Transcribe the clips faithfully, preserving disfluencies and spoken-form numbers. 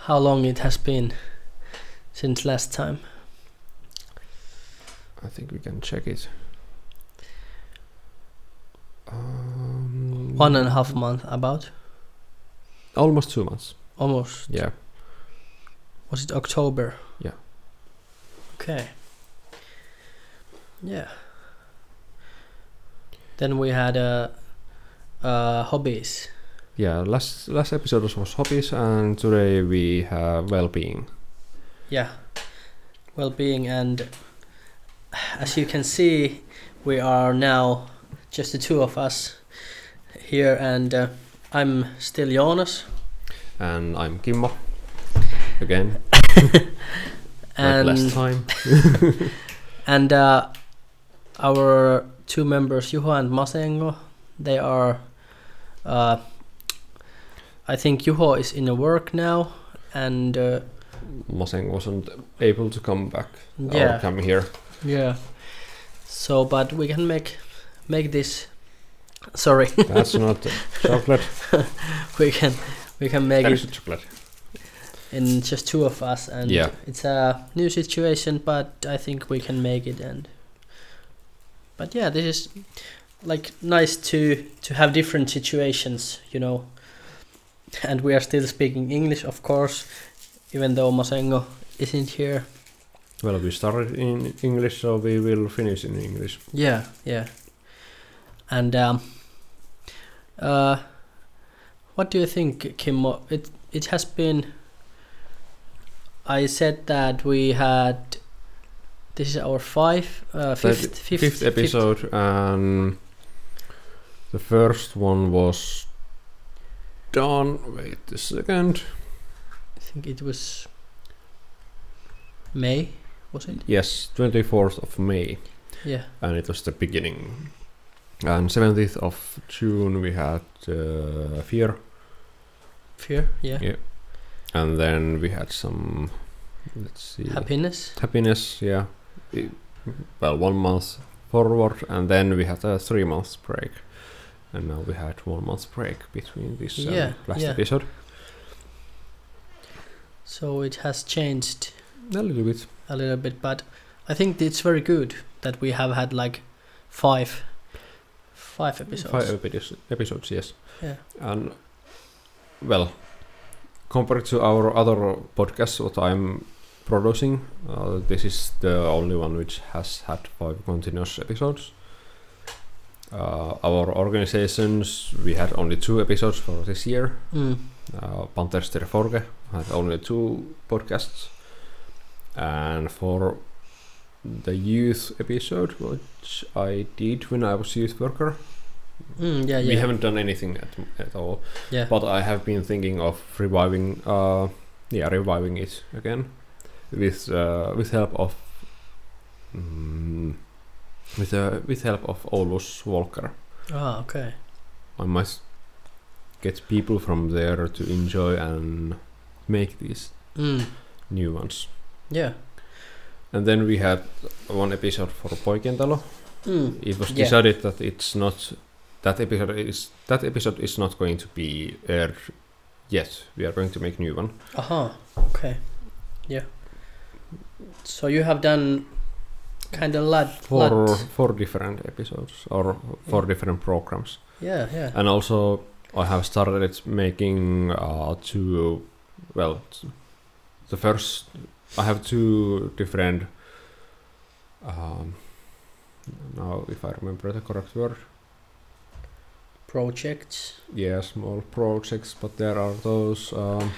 how long it has been since last time. I think we can check it. Um, One and a half month, about. Almost two months. Almost. Yeah. Was it October? Yeah. Okay. Yeah. Then we had uh, uh, hobbies. Yeah, last last episode was hobbies, and today we have well-being. Yeah, well-being, and as you can see, we are now just the two of us here, and uh, I'm still Jonas. And I'm Kimmo. Again. And like last time. And uh, our two members, Juho and Masengo, they are... Uh, I think Juho is in a work now, and... Uh, Maseng wasn't able to come back yeah. or come here. Yeah. So, but we can make make this... Sorry. That's not chocolate. we can we can make that it is chocolate. in just two of us, and yeah. it's a new situation, but I think we can make it. And but yeah, this is like nice to to have different situations, you know. And we are still speaking English, of course, even though Masengo isn't here. Well, we started in English, so we will finish in English. Yeah, yeah. And um, uh, what do you think, Kimmo? It it has been. I said that we had. This is our five, uh, fifth, fifth, fifth episode, fifth. And the first one was done. Wait a second. I think it was May, was it? Yes, twenty-fourth of May. Yeah. And it was the beginning. And seventeenth of June we had uh, Fear. Fear, yeah. Yeah. And then we had some, let's see. Happiness. Happiness, yeah. It, well, one month forward, and then we had a three months break. And now we had one month break between this um, yeah, last yeah. episode. So it has changed a little bit. A little bit, but I think it's very good that we have had like five, five episodes. Five epi- episodes, yes. Yeah. And well, compared to our other podcasts, what I'm producing, uh, this is the only one which has had five continuous episodes. Uh, our organizations, we had only two episodes for this year. Mm. Uh, Panthers der Forge had only two podcasts. And for the youth episode, which I did when I was youth worker, mm, yeah, yeah. we haven't done anything at, at all. Yeah. But I have been thinking of reviving, uh, yeah, reviving it again with uh, with help of. Um, With uh, with help of Oulus Walker. Ah, okay. I must get people from there to enjoy and make these mm. new ones. Yeah. And then we had one episode for Poikentalo. Mm. It was yeah. decided that it's not that episode is that episode is not going to be aired yet. We are going to make new one. Aha. Okay. Yeah. So you have done. Kind of lot, four lot. four different episodes or four yeah. different programs. Yeah, yeah. And also, I have started making uh, two. Well, t- the first I have two different. Um, now, if I remember the correct word. Projects. Yeah, small projects, but there are those um,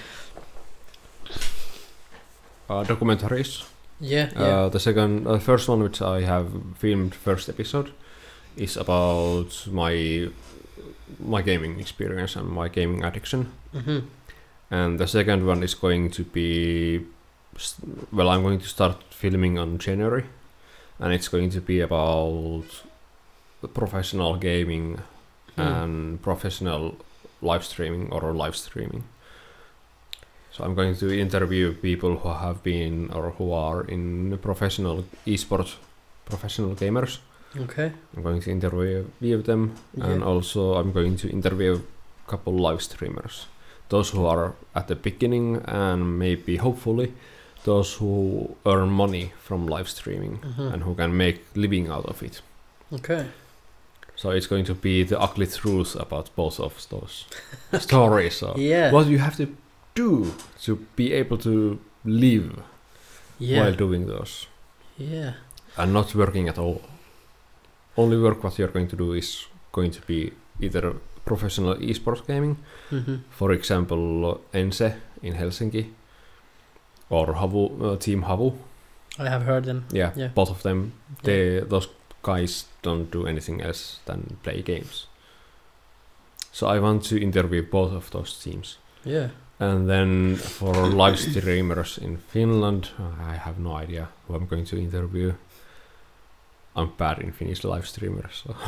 uh, documentaries. Yeah, uh, yeah. The second, uh, first one which I have filmed first episode is about my my gaming experience and my gaming addiction. Mm-hmm. And the second one is going to be, well, I'm going to start filming on January, and it's going to be about professional gaming mm. and professional live streaming or live streaming. So I'm going to interview people who have been or who are in professional esports, professional gamers. Okay. I'm going to interview them, yeah. And also I'm going to interview a couple live streamers those who are at the beginning and maybe hopefully those who earn money from live streaming Mhm. and who can make living out of it. Okay. So it's going to be the ugly truth about both of those stories. So Yeah. what you have to do to be able to live Yeah. while doing those Yeah. and not working at all. Only work what you're going to do is going to be either professional esports gaming, Mm-hmm. for example Ense in Helsinki, or Havu, uh, Team Havu. I have heard them. Yeah, Yeah. both of them. They those guys don't do anything else than play games. So I want to interview both of those teams. Yeah. And then for live streamers in Finland, I have no idea who I'm going to interview. I'm bad in Finnish live streamers. So.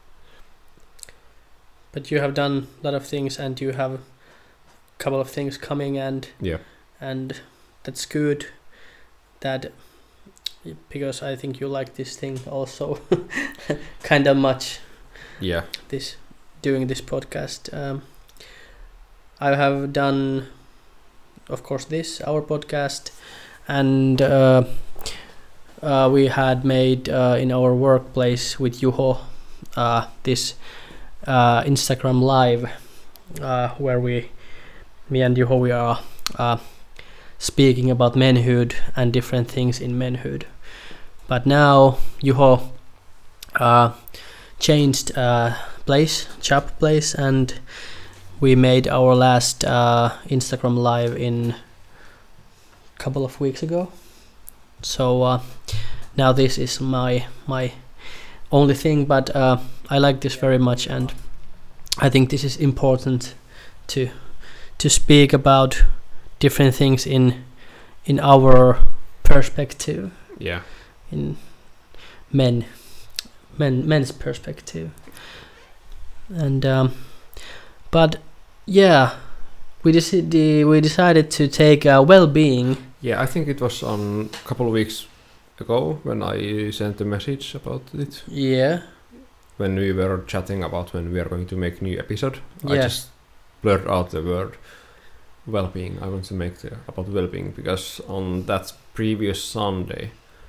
But you have done a lot of things, and you have a couple of things coming, and Yeah. and that's good. That because I think you like this thing also, kind of much. Yeah. This doing this podcast. Um, I have done, of course, this our podcast, and uh, uh, we had made uh, in our workplace with Juho uh, this uh, Instagram live uh, where we, me and Juho, we are uh, speaking about manhood and different things in manhood. But now Juho uh, changed uh, place, job place, and we made our last uh, Instagram live in a couple of weeks ago. So uh, now this is my my only thing, but uh, I like this very much, and I think this is important to to speak about different things in in our perspective, Yeah. in men men men's perspective. And um, but yeah, we decided we decided to take uh, well-being. Yeah, I think it was on a couple of weeks ago when I sent a message about it. Yeah. When we were chatting about when we are going to make new episode, I Yeah. just blurred out the word well-being. I want to make the about well-being because on that previous Sunday,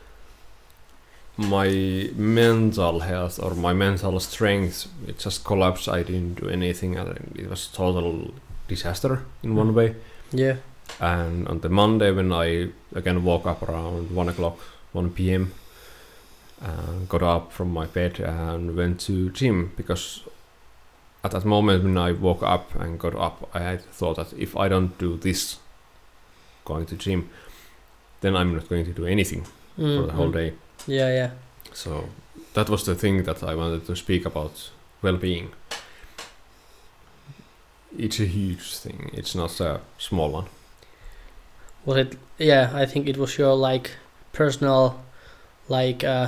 my mental health or my mental strength, it just collapsed. I didn't do anything, and it was total disaster in one way. Yeah. And on the Monday when I again woke up around one o'clock, one p.m. and got up from my bed and went to gym, because at that moment when I woke up and got up, I had thought that if I don't do this, going to gym, then I'm not going to do anything Mm, for the whole mm. day. Yeah, yeah. So that was the thing that I wanted to speak about, well-being. It's a huge thing. It's not a small one. Was it? Yeah, I think it was your like personal, like uh,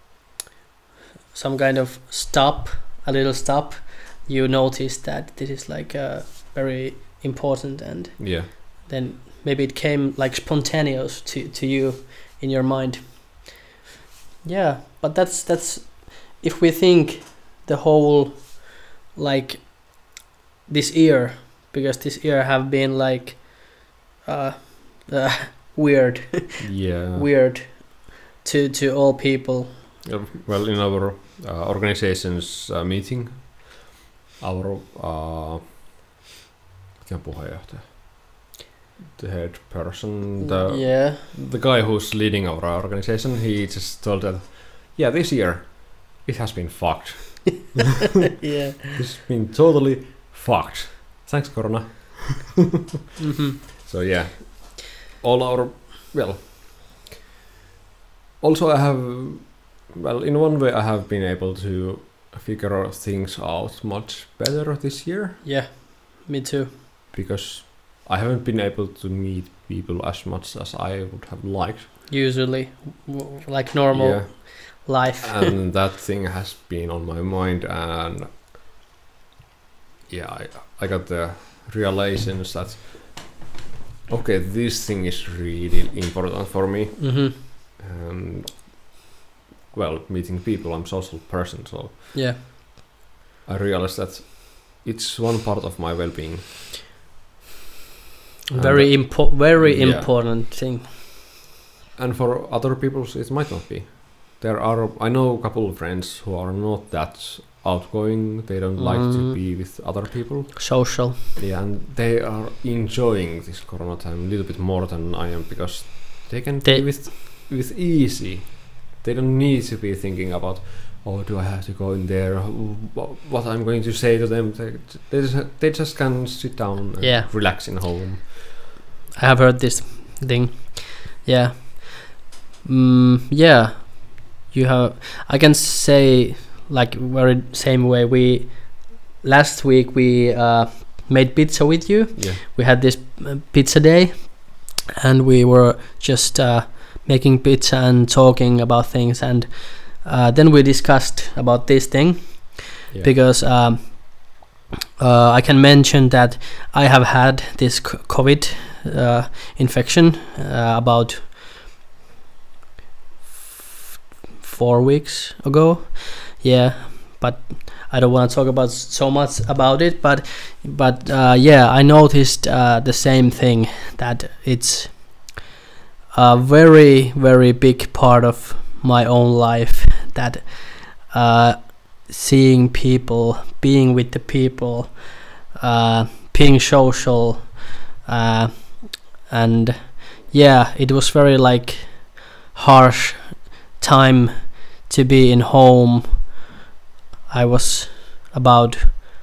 some kind of stop, a little stop. You noticed that this is like uh, very important, and Yeah. then maybe it came like spontaneous to to you in your mind. Yeah, but that's that's if we think the whole like this year, because this year have been like uh, uh weird Yeah. weird to to all people. Uh, Well, in our uh, organization's uh, meeting, our uh, mikä puheenjohtaja? The head person, the Yeah. the guy who's leading our organization, he just told that, yeah, this year it has been fucked. Yeah. It's been totally fucked. Thanks, Corona. Mm-hmm. So yeah, all our, well, also I have, well, in one way I have been able to figure things out much better this year, Yeah, me too. because I haven't been able to meet people as much as I would have liked. Usually, w- like normal Yeah, life. and that thing has been on my mind, and yeah, I, I got the realizations that, okay, this thing is really important for me. Mm-hmm. And well, meeting people, I'm a social person, so Yeah. I realized that it's one part of my well-being. Very impo- very yeah. important thing. And for other people, it might not be. There are, I know a couple of friends who are not that outgoing. They don't like to Mm. be with other people. Social. Yeah, and they are enjoying this Corona time a little bit more than I am because they can They- be with with easy. They don't need to be thinking about, oh, do I have to go in there? Wh- What I'm going to say to them? They they just, they just can sit down and Yeah. relax in home. I have heard this thing. Yeah. Mm, yeah. You have. I can say like very same way. We last week we uh, made pizza with you. Yeah. We had this uh, pizza day, and we were just uh, making pizza and talking about things, and uh, then we discussed about this thing. Yeah. Because um, uh, I can mention that I have had this c- COVID uh, infection uh, about f- four weeks ago. Yeah, but I don't want to talk about s- so much about it. But but uh, yeah, I noticed uh, the same thing, that it's a very very big part of my own life, that uh, seeing people, being with the people, uh, being social, uh, and yeah, it was very like harsh time to be in home. I was about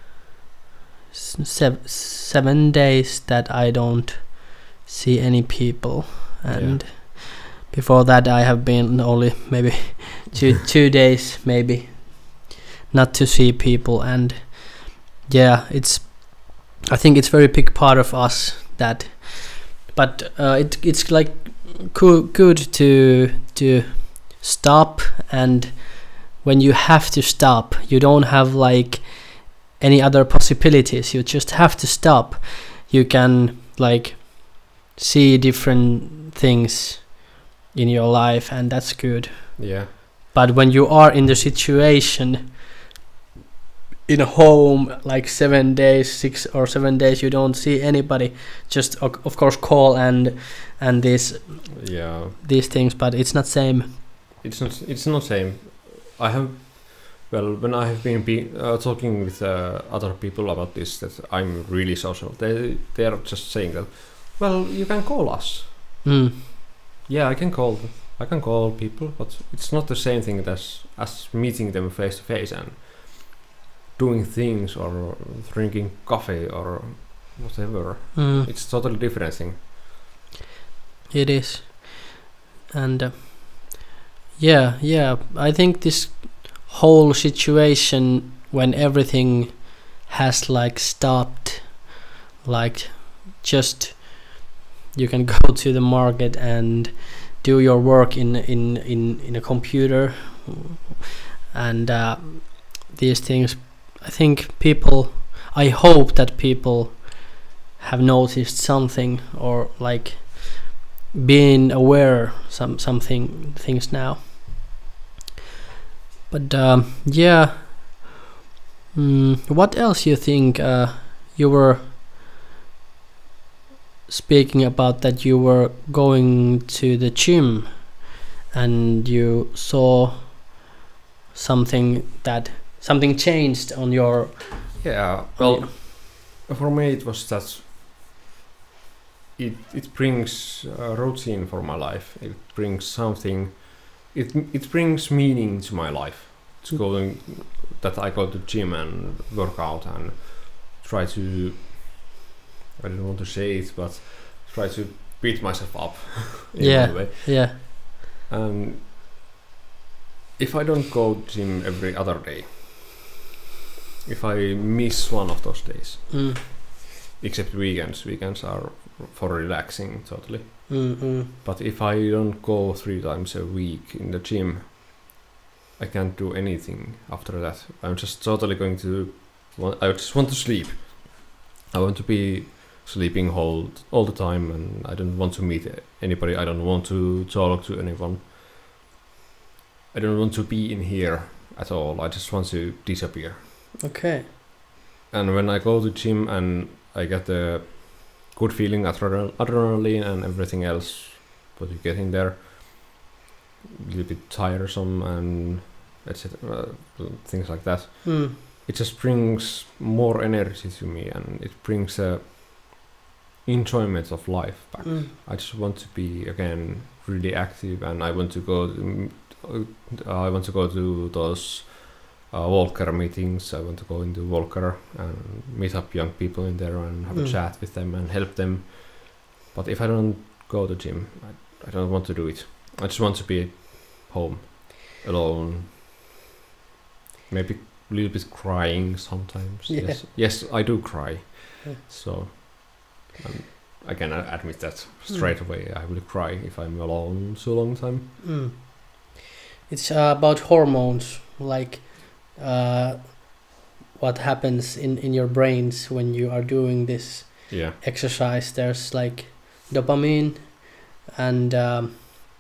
s- sev- seven days that I don't see any people, and Yeah. before that I have been only maybe two two days maybe not to see people. And yeah, it's I think it's very big part of us that, but uh, it it's like co- good to to stop, and when you have to stop, you don't have like any other possibilities. You just have to stop. You can like see different things in your life, and that's good. Yeah. But when you are in the situation in a home like seven days, six or seven days, you don't see anybody. Just o- of course call and and these Yeah. these things, but it's not same. It's not. It's not same. I have. Well, when I have been be, uh, talking with uh, other people about this, that I'm really social. They they are just saying that. Well, you can call us. Mm. Yeah, I can call. I can call people, but it's not the same thing as as meeting them face to face and doing things or drinking coffee or whatever. Mm. It's totally different thing. It is. And uh, yeah, yeah, I think this whole situation, when everything has like stopped, like just you can go to the market and do your work in in in, in a computer, and uh, these things, I think people, I hope that people have noticed something, or like being aware some something things now. But um, yeah, mm, what else you think? Uh, you were speaking about that you were going to the gym, and you saw something that something changed on your. Yeah. Well, for me it was that. It it brings a routine for my life. It brings something. It it brings meaning to my life. It's Mm. going that I go to gym and work out and try to. I don't want to say it, but try to beat myself up. in Yeah. one way. Yeah. And if I don't go to gym every other day, if I miss one of those days, Mm. except weekends, weekends are for relaxing totally. Mm, mm. But if I don't go three times a week in the gym, I can't do anything after that. I'm just totally going to. Want, I just want to sleep. I want to be sleeping all all the time, and I don't want to meet anybody. I don't want to talk to anyone. I don't want to be in here at all. I just want to disappear. Okay. And when I go to gym and I get the good feeling, adrenal- adrenaline and everything else what you get in there. A little bit tiresome and et cetera. Uh, things like that. Mm. It just brings more energy to me, and it brings a enjoyment of life back. Mm. I just want to be again really active, and I want to go. To, uh, I want to go to those uh, Volker meetings. I want to go into Volker and meet up young people in there and have Mm. a chat with them and help them. But if I don't go to gym, I, I don't want to do it. I just want to be home, alone. Maybe a little bit crying sometimes. Yeah. Yes, yes, I do cry. Yeah. So. Um, I can uh, admit that straight Mm. away. I will cry if I'm alone so long time. Mm. It's uh, about hormones, like uh, what happens in, in your brains when you are doing this Yeah. exercise. There's like dopamine and um,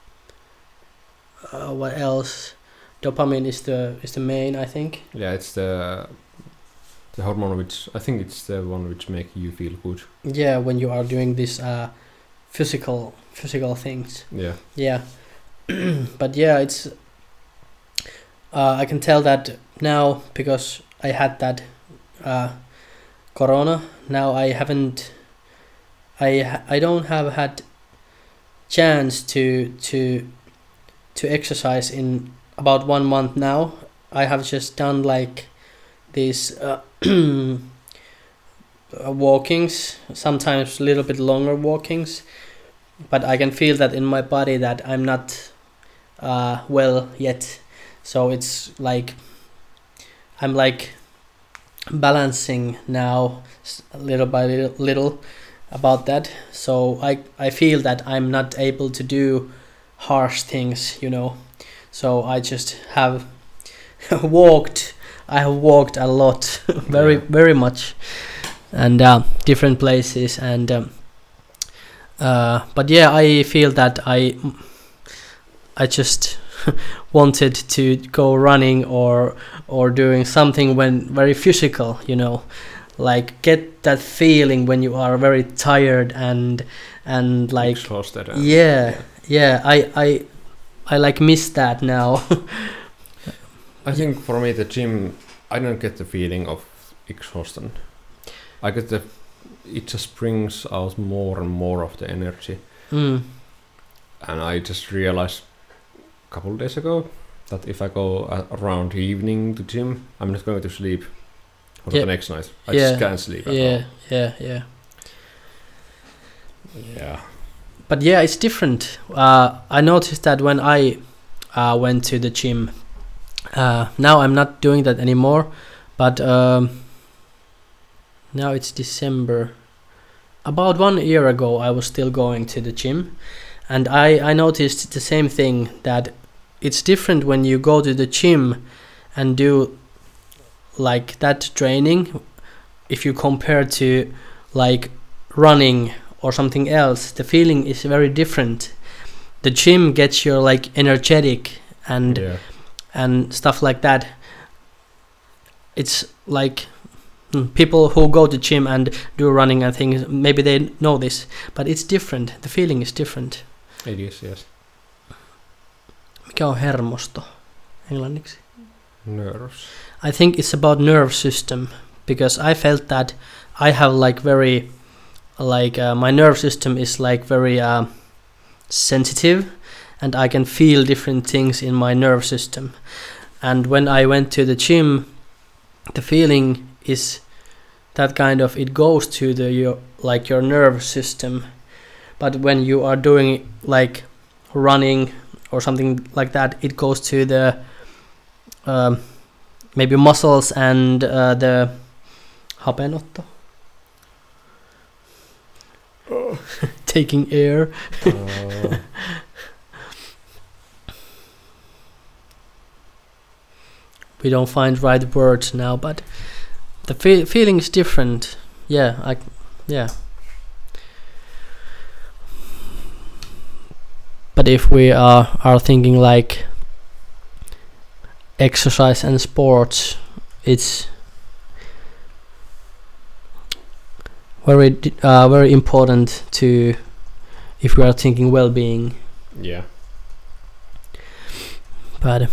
uh, what else? Dopamine is the is the main, I think. Yeah, it's the the hormone which I think it's the one which make you feel good. Yeah, when you are doing this uh, physical physical things. Yeah. Yeah, but yeah, it's. Uh, I can tell that now because I had that uh, corona. Now I haven't. I ha- I don't have had chance to to to exercise in about one month now. I have just done like these uh, walkings, sometimes a little bit longer walkings, but I can feel that in my body that I'm not uh, well yet. So it's like I'm like balancing now s- little by little, little about that. So I I feel that I'm not able to do harsh things, you know. So I just have walked. I have walked a lot, very Yeah. very much, and uh, different places. And um, uh, but yeah, I feel that I I just wanted to go running or or doing something when very physical, you know, like get that feeling when you are very tired and and like Exhausted. and- yeah yeah I I I like miss that now. I think for me the gym, I don't get the feeling of exhaustion. I get the, it just brings out more and more of the energy. mm. And I just realized a couple of days ago that if I go a- around evening to gym, I'm not going to sleep for Yeah. the next night. I Yeah. just can't sleep at yeah yeah yeah all. Yeah. but yeah, it's different. uh, I noticed that when I uh, went to the gym, uh, now I'm not doing that anymore, but um, now it's December. About one year ago I was still going to the gym, and I, I noticed the same thing, that it's different when you go to the gym and do like that training if you compare to like running or something else. The feeling is very different. The gym gets you like energetic and Yeah. and stuff like that. It's like mm, people who go to gym and do running and things, maybe they know this, but it's different. The feeling is different. It is, yes. Mikä on hermosto englanniksi? Nerves. I think it's about nerve system, because I felt that I have like very like uh, my nerve system is like very uh, sensitive, and I can feel different things in my nerve system. And when I went to the gym, the feeling is that kind of, it goes to the your like your nerve system. But when you are doing like running or something like that, it goes to the um, maybe muscles and uh, the hapenotto. Taking air. Uh, We don't find right words now, but the fe- feeling is different. Yeah, I, yeah. But if we are are thinking like exercise and sports, it's very d- uh, very important to if we are thinking well-being. Yeah. But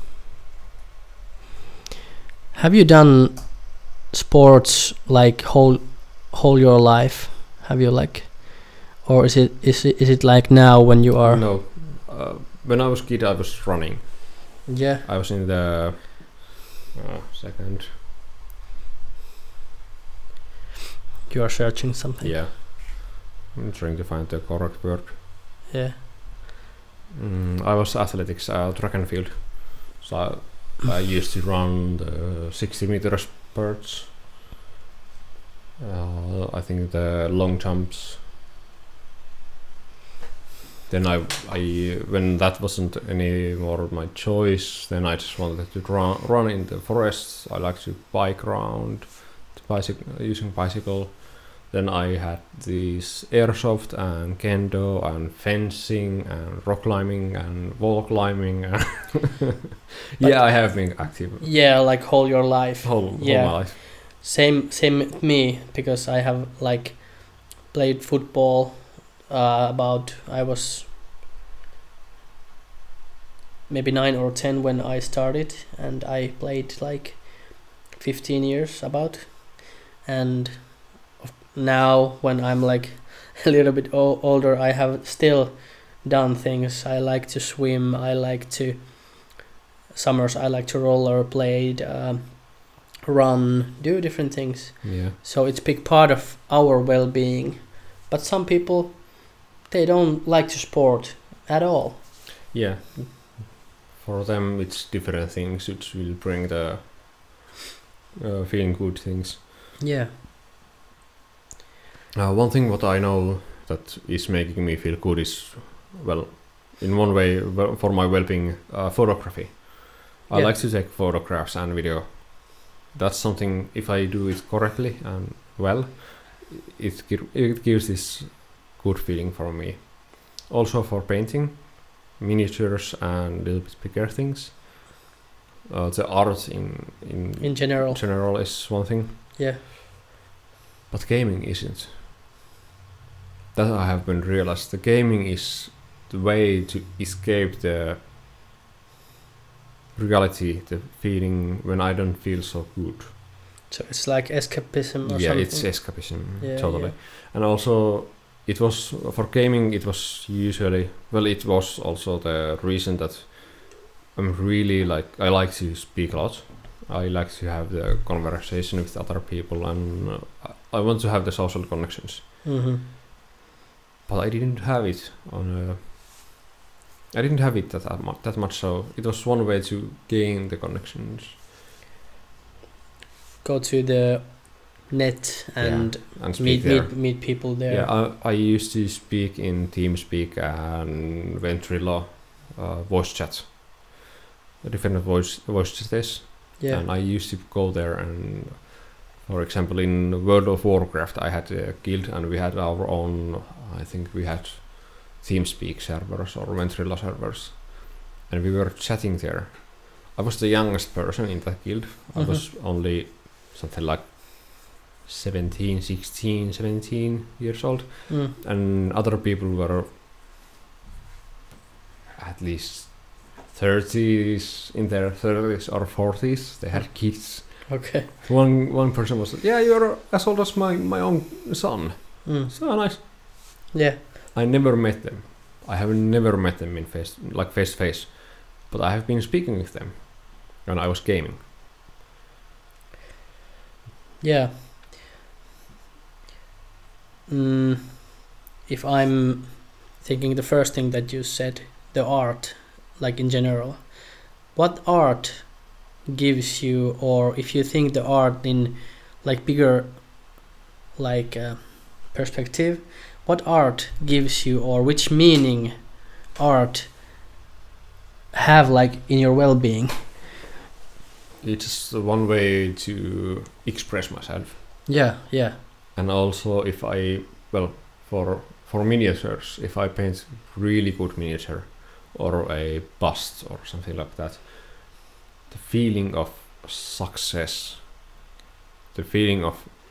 have you done sports like whole whole your life? Have you like, or is it is it is it like now when you are? No. Uh, when I was kid, I was running. Yeah. I was in the uh, second. You are searching something. Yeah. I'm trying to find the correct word. Yeah. Mm, I was athletics, uh, track and field. So I, I used to run the sixty meter spurts. Uh, I think the long jumps. Then I, I, when that wasn't any more my choice, then I just wanted to run, run in the forests. I like to bike around, bicycle, using bicycle. Then I had these airsoft and kendo and fencing and rock climbing and wall climbing. And yeah, I have been active. Yeah, like whole your life. Whole, yeah. whole my life. Same, same with me, because I have like played football. Uh, about I was maybe nine or ten when I started, and I played like fifteen years about. And now when I'm like a little bit o- older, I have still done things. I like to swim. I like to summers. I like to rollerblade, um, run, do different things. Yeah. So it's big part of our well-being. But some people, they don't like to sport at all. Yeah. For them, it's different things which will bring the uh, feeling good things. Yeah. Uh, one thing what I know that is making me feel good is, well, in one way, well, for my well-being, uh, photography. I Yeah. like to take photographs and video. That's something, if I do it correctly and well, it, gi- it gives this good feeling for me. Also for painting, miniatures and little bit bigger things. Uh, the art in, in, In general. general is one thing. Yeah. But gaming isn't. That I have been realized. The gaming is the way to escape the reality, the feeling when I don't feel so good. So it's like escapism or yeah, something. it's escapism, Yeah, totally. yeah. And also, it was for gaming. It was usually well. It was also the reason that I'm really like I like to speak a lot. I like to have the conversation with other people, and uh, I want to have the social connections. Mm-hmm. But I didn't have it on. Uh, I didn't have it that that much, that much. So it was one way to gain the connections. Go to the net and Yeah, and speak meet, there. meet meet people there. Yeah, I, I used to speak in TeamSpeak and Ventrilo uh, voice chat, different voice voice chats. Yeah. And I used to go there, and for example, in World of Warcraft, I had a guild, and we had our own. I think we had TeamSpeak servers or Ventrilo servers, and we were chatting there. I was the youngest person in that guild. I Mhm. was only something like seventeen, sixteen, seventeen years old. Mm. And other people were at least thirties, in their thirties or forties. They had kids. Okay. One one person was, yeah, you're as old as my, my own son. Mm. So nice. Yeah. I never met them. I have never met them in face, like face to face, but I have been speaking with them when I was gaming. Yeah. Mm, if I'm thinking the first thing that you said, the art, like in general, what art gives you, or if you think the art in like bigger like uh, perspective, what art gives you, or which meaning art have like in your well-being? It's one way to express myself. Yeah, yeah. And also if I, well, for for miniatures, if I paint really good miniature or a bust or something like that, the feeling of success, the feeling of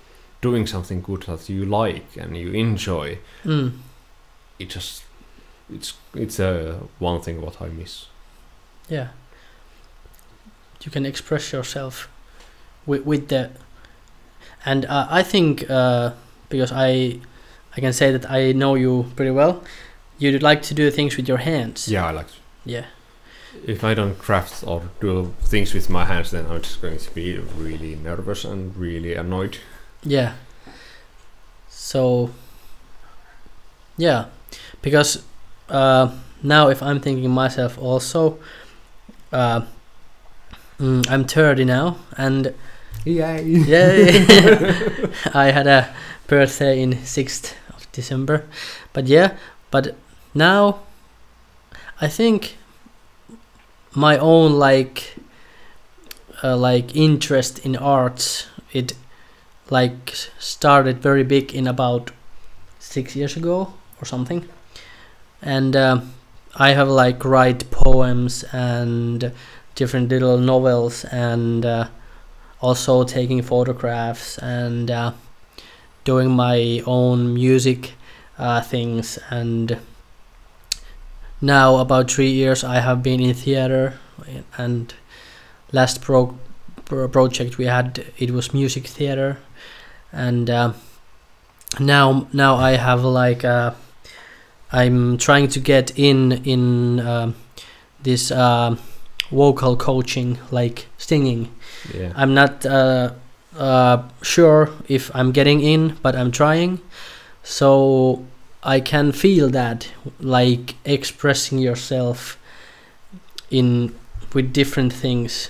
doing something good that you like and you enjoy, Mm. it just it's it's uh, one thing what I miss. Yeah. You can express yourself with with the, and uh, I think uh, because I I can say that I know you pretty well. You like to do things with your hands. Yeah, I like. To. Yeah. If I don't craft or do things with my hands, then I'm just going to be really nervous and really annoyed. Yeah. So. Yeah, because uh, now if I'm thinking myself also, uh, mm, I'm thirty now, and Yay! yeah, I had a birthday in sixth of December, but yeah, but now I think my own like uh, like interest in arts, it like started very big in about six years ago or something, and uh, I have like write poems and different little novels, and uh, also taking photographs and uh, doing my own music uh, things. And now about three years I have been in theater, and last pro, pro project we had, it was music theater, and uh, now now I have like uh, I'm trying to get in in uh, this uh, vocal coaching, like singing. Yeah. I'm not uh, uh, sure if I'm getting in, but I'm trying. So I can feel that, like expressing yourself in with different things.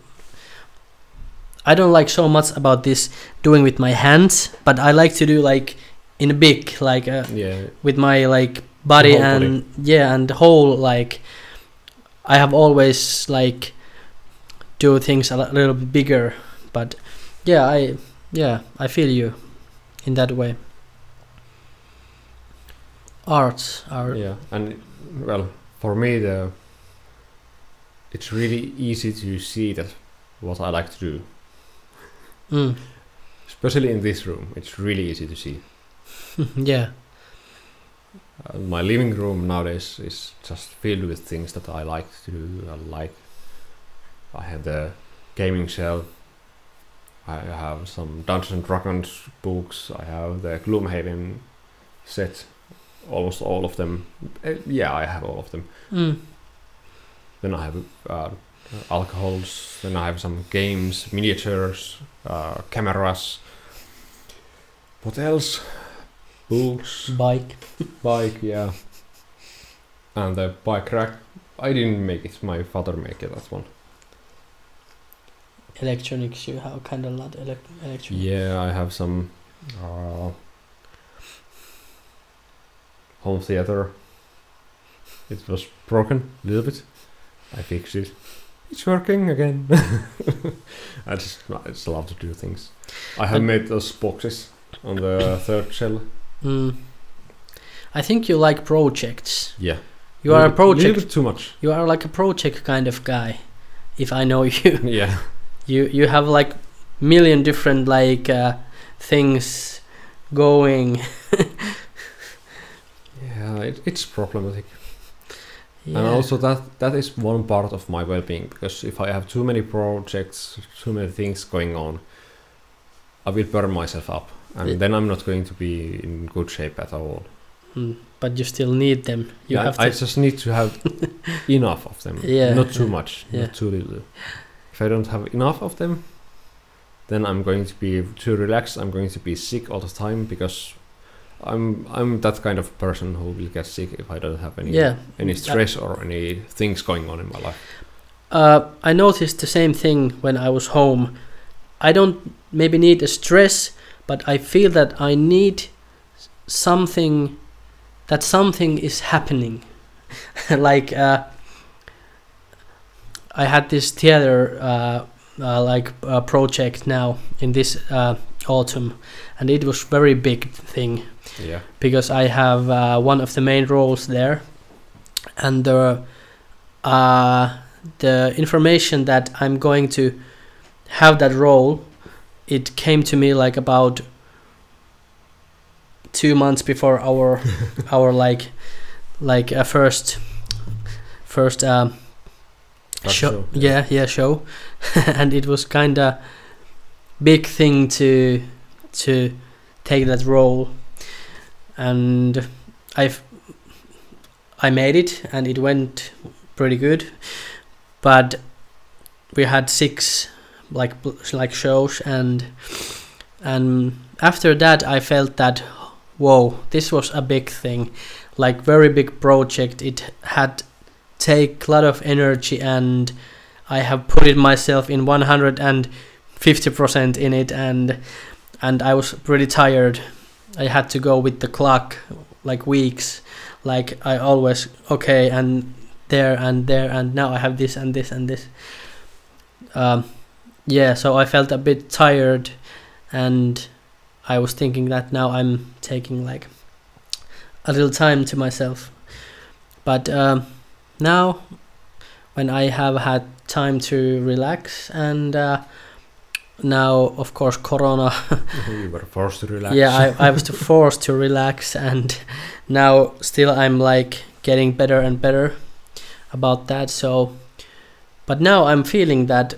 I don't like so much about this doing with my hands, but I like to do like in a big, like uh, Yeah. with my like body whole and yeah, and the whole, like I have always like do things a li- little bit bigger, but yeah, I yeah I feel you in that way. Arts are Yeah, and well, for me, the it's really easy to see that what I like to do, mm, especially in this room. It's really easy to see. yeah, Uh, my living room nowadays is just filled with things that I like to do. I like. I have the gaming shelf. I have some Dungeons and Dragons books. I have the Gloomhaven set. Almost all of them. Uh, yeah, I have all of them. mm, Then I have uh, alcohols. Then I have some games, miniatures, uh, cameras. What else? Books, bike. bike, yeah. And the bike rack. I didn't make it. My father made it, that one. Electronics, you have kind of lot elec- electronics. Yeah, I have some uh, home theater. It was broken a little bit. I fixed it. It's working again. I just I just love to do things. I have But- made those boxes on the third shell. Mm. I think you like projects. Yeah. You are a Little project. bit too much. You are like a project kind of guy, if I know you. Yeah. You you have like million different like uh, things going. Yeah, it, it's problematic. Yeah. And also that that is one part of my well-being, because if I have too many projects, too many things going on, I will burn myself up, and Yeah. then I'm not going to be in good shape at all. Mm, but you still need them. You Yeah, have I to. just need to have enough of them, Yeah, not too yeah, much, yeah. not too little. If I don't have enough of them, then I'm going to be too relaxed. I'm going to be sick all the time, because I'm I'm that kind of person who will get sick if I don't have any Yeah. any stress or any things going on in my life. Uh, I noticed the same thing when I was home. I don't maybe need a stress, but I feel that I need something, that something is happening. Like uh, I had this theater uh, uh, like uh, project now in this uh, autumn, and it was very big thing. Yeah. Because I have uh, one of the main roles there, and the uh, the information that I'm going to have that role, it came to me like about two months before our our like like uh, first first um, show, show. Yeah, yeah, show, and it was kind of big thing to to take that role, and I've I made it, and it went pretty good, but we had six like like shows, and and after that I felt that, whoa, this was a big thing, like very big project. It had take a lot of energy, and I have put it myself in one hundred fifty percent in it, and and I was pretty tired. I had to go with the clock like weeks, like I always okay and there and there, and now I have this and this and this. Um, yeah, so I felt a bit tired, and I was thinking that now I'm taking like a little time to myself. But um, now, when I have had time to relax, and uh, now of course Corona, You were forced to relax. yeah, I, I was forced to relax, and now still I'm like getting better and better about that. So, but now I'm feeling that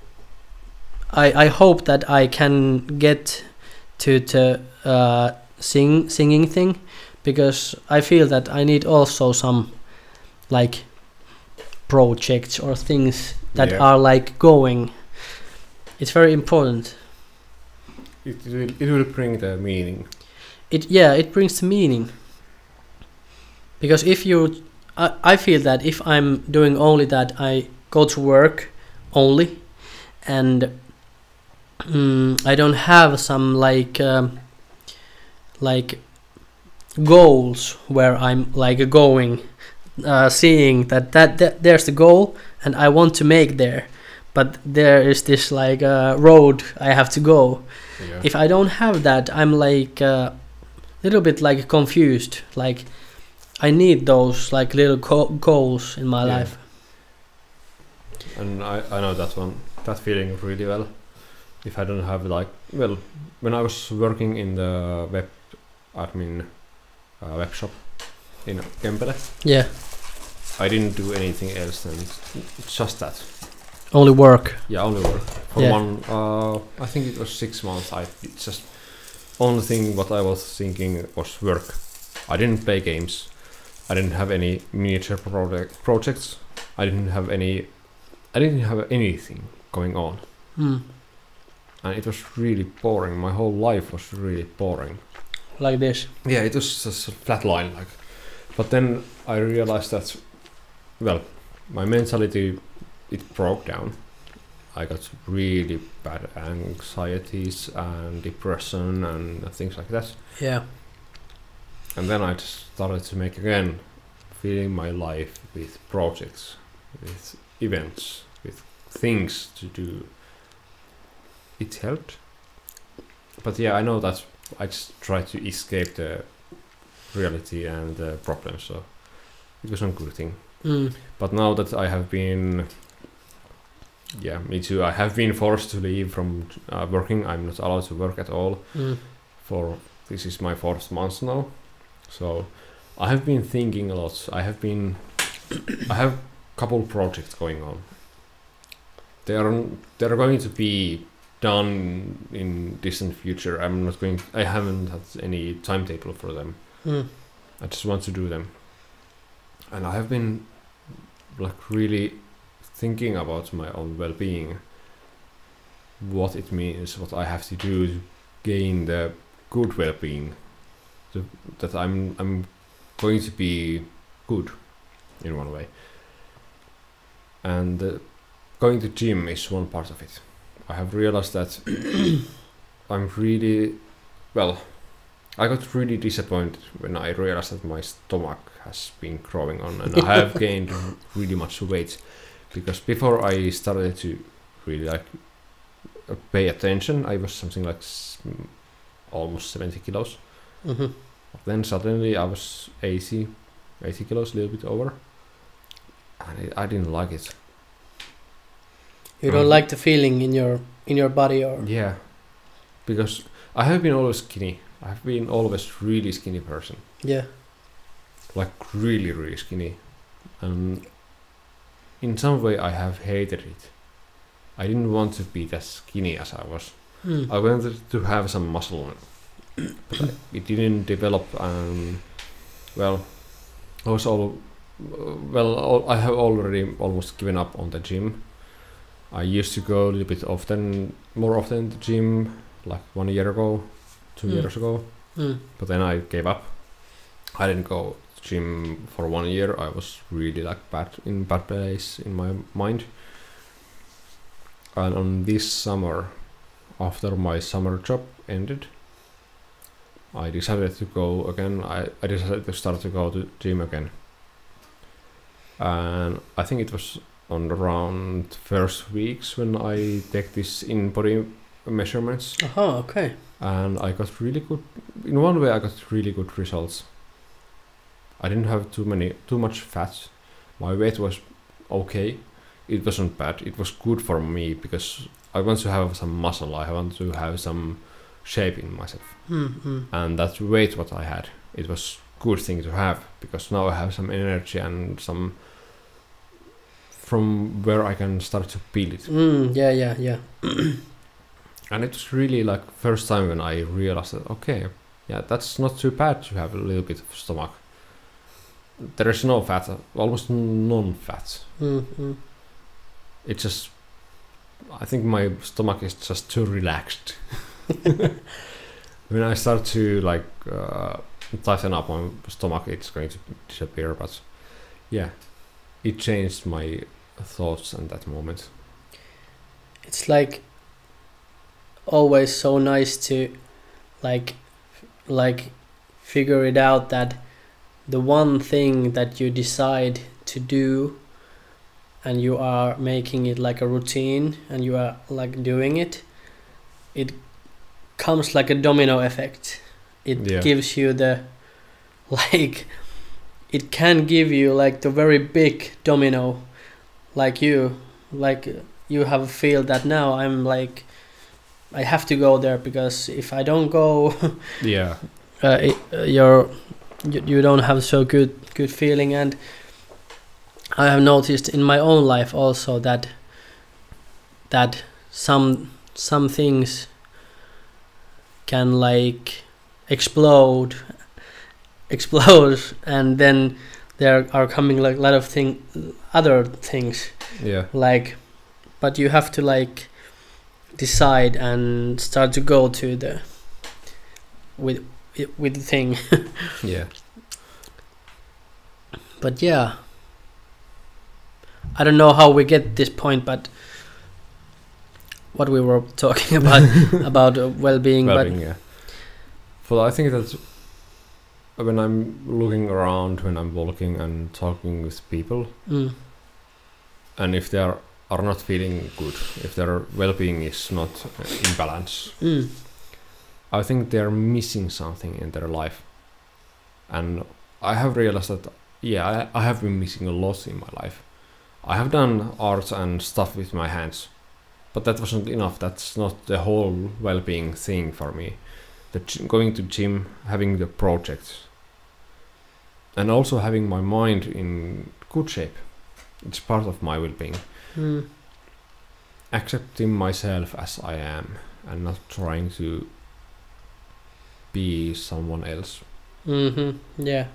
I I hope that I can get to to uh, sing singing thing, because I feel that I need also some like projects or things that Yeah. are like going. It's very important. It will, it will bring the meaning. It yeah, it brings the meaning. Because if you, I, I feel that if I'm doing only that, I go to work only, and mm, I don't have some like um, like goals where I'm like going, uh, seeing that, that that there's the goal and I want to make there, but there is this like uh, road I have to go. Yeah. If I don't have that, I'm like a uh, little bit like confused. Like I need those like little co- goals in my Yeah. life. And I, I know that one, that feeling really well. If I don't have like, well, when I was working in the web admin uh, web shop in Kempele, Yeah, I didn't do anything else than just that. only work. Yeah, only work. For Yeah. one, uh, I think it was six months. I it just only thing what I was thinking was work. I didn't play games. I didn't have any miniature project projects. I didn't have any. I didn't have anything going on, Mm. and it was really boring. My whole life was really boring. Like this. Yeah, it was just a flat line, like. But then I realized that, well, my mentality, it broke down. I got really bad anxieties and depression and things like that. Yeah. And then I just started to make again, filling my life with projects, with events, with things to do. It helped. But yeah, I know that I just tried to escape the reality and the problems, so it was a good thing. Mm. But now that I have been, yeah, me too, I have been forced to leave from uh, working. I'm not allowed to work at all. Mm. For this is my fourth month now, so I have been thinking a lot. I have been, I have couple projects going on. They are they are going to be done in distant future. I'm not going. I haven't had any timetable for them. Mm. I just want to do them, and I have been like really thinking about my own well-being, what it means, what I have to do to gain the good well-being, to, that I'm I'm going to be good in one way. And uh, going to gym is one part of it. I have realized that I'm really, well, I got really disappointed when I realized that my stomach has been growing on and I have gained really much weight, because before I started to really like uh, pay attention, I was something like s- almost seventy kilos. Mm-hmm. Then suddenly I was eighty, eighty kilos, a little bit over, and it, I didn't like it. You don't Mm. like the feeling in your in your body, or Yeah, because I have been always skinny I've been always really skinny person. Yeah. Like really, really skinny. And in some way I have hated it. I didn't want to be as skinny as I was. Mm. I wanted to have some muscle. But I, it didn't develop. Um, well, I was all... Well, all, I have already almost given up on the gym. I used to go a little bit often, more often to the gym, like one year ago, two Mm. years ago. Mm. But then I gave up. I didn't go to gym for one year. I was really like bad in bad place in my mind. And on this summer, after my summer job ended, I decided to go again. I, I decided to start to go to gym again. And I think it was on around first weeks when I take this in-body measurements. Uh-huh, okay. And I got really good, in one way I got really good results. I didn't have too many, too much fat. My weight was okay. It wasn't bad. It was good for me because I want to have some muscle. I want to have some shape in myself. Mm-hmm. And that weight what I had, it was good thing to have because now I have some energy and some from where I can start to build it. Mm, yeah, yeah, yeah. And it was really like first time when I realized that okay, yeah, that's not too bad to have a little bit of stomach. There is no fat, almost non-fat. Mm-hmm. It's just, I think my stomach is just too relaxed. When I start to like uh, tighten up my stomach, it's going to disappear. But yeah, it changed my thoughts at that moment. It's like always so nice to like like figure it out that the one thing that you decide to do and you are making it like a routine and you are like doing it, it comes like a domino effect. It Yeah. gives you the like it can give you like the very big domino, like you like you have a feel that now I'm like I have to go there because if I don't go Yeah. uh, it, uh, you're you, you don't have so good good feeling. And I have noticed in my own life also that that some some things can like explode explode and then there are coming like a lot of thing other things Yeah. like, but you have to like decide and start to go to the with with the thing. Yeah. But yeah, I don't know how we get this point, but what we were talking about about uh, well-being, Well-being, but yeah. But I think that when I'm looking around, when I'm walking and talking with people, mm, and if they are, are not feeling good, if their well-being is not in balance, mm, I think they're missing something in their life. And I have realized that, yeah, I, I have been missing a lot in my life. I have done art and stuff with my hands, but that wasn't enough. That's not the whole well-being thing for me. The g- going to gym, having the projects, and also having my mind in good shape. It's part of my well-being. mm, Accepting myself as I am and not trying to be someone else. mm-hmm, yeah,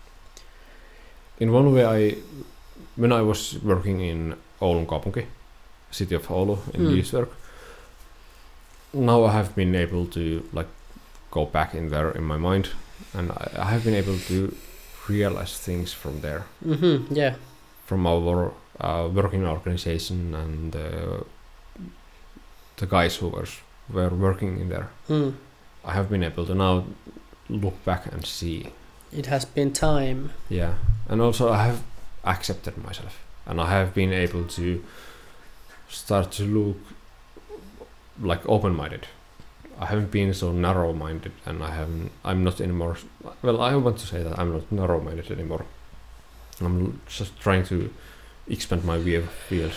In one way, I when I was working in Oulun kaupunki, city of Oulu, in Mm. youth, now I have been able to like go back in there in my mind, and I, I have been able to realize things from there, mm-hmm, yeah, from our uh, working organization and uh, the guys who were were working in there. mm. I have been able to now look back and see. It has been time. Yeah, and also I have accepted myself, and I have been able to start to look like open-minded. I haven't been so narrow-minded, and I haven't. I'm not anymore. Well, I want to say that I'm not narrow-minded anymore. I'm just trying to expand my view of field,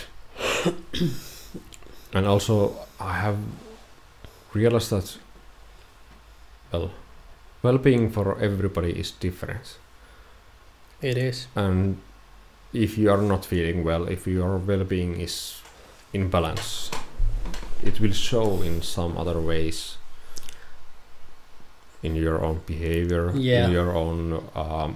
and also I have realized that. Well, well-being for everybody is different. It is. And if you are not feeling well, if your well-being is in balance, it will show in some other ways, in your own behavior, Yeah. in your own um,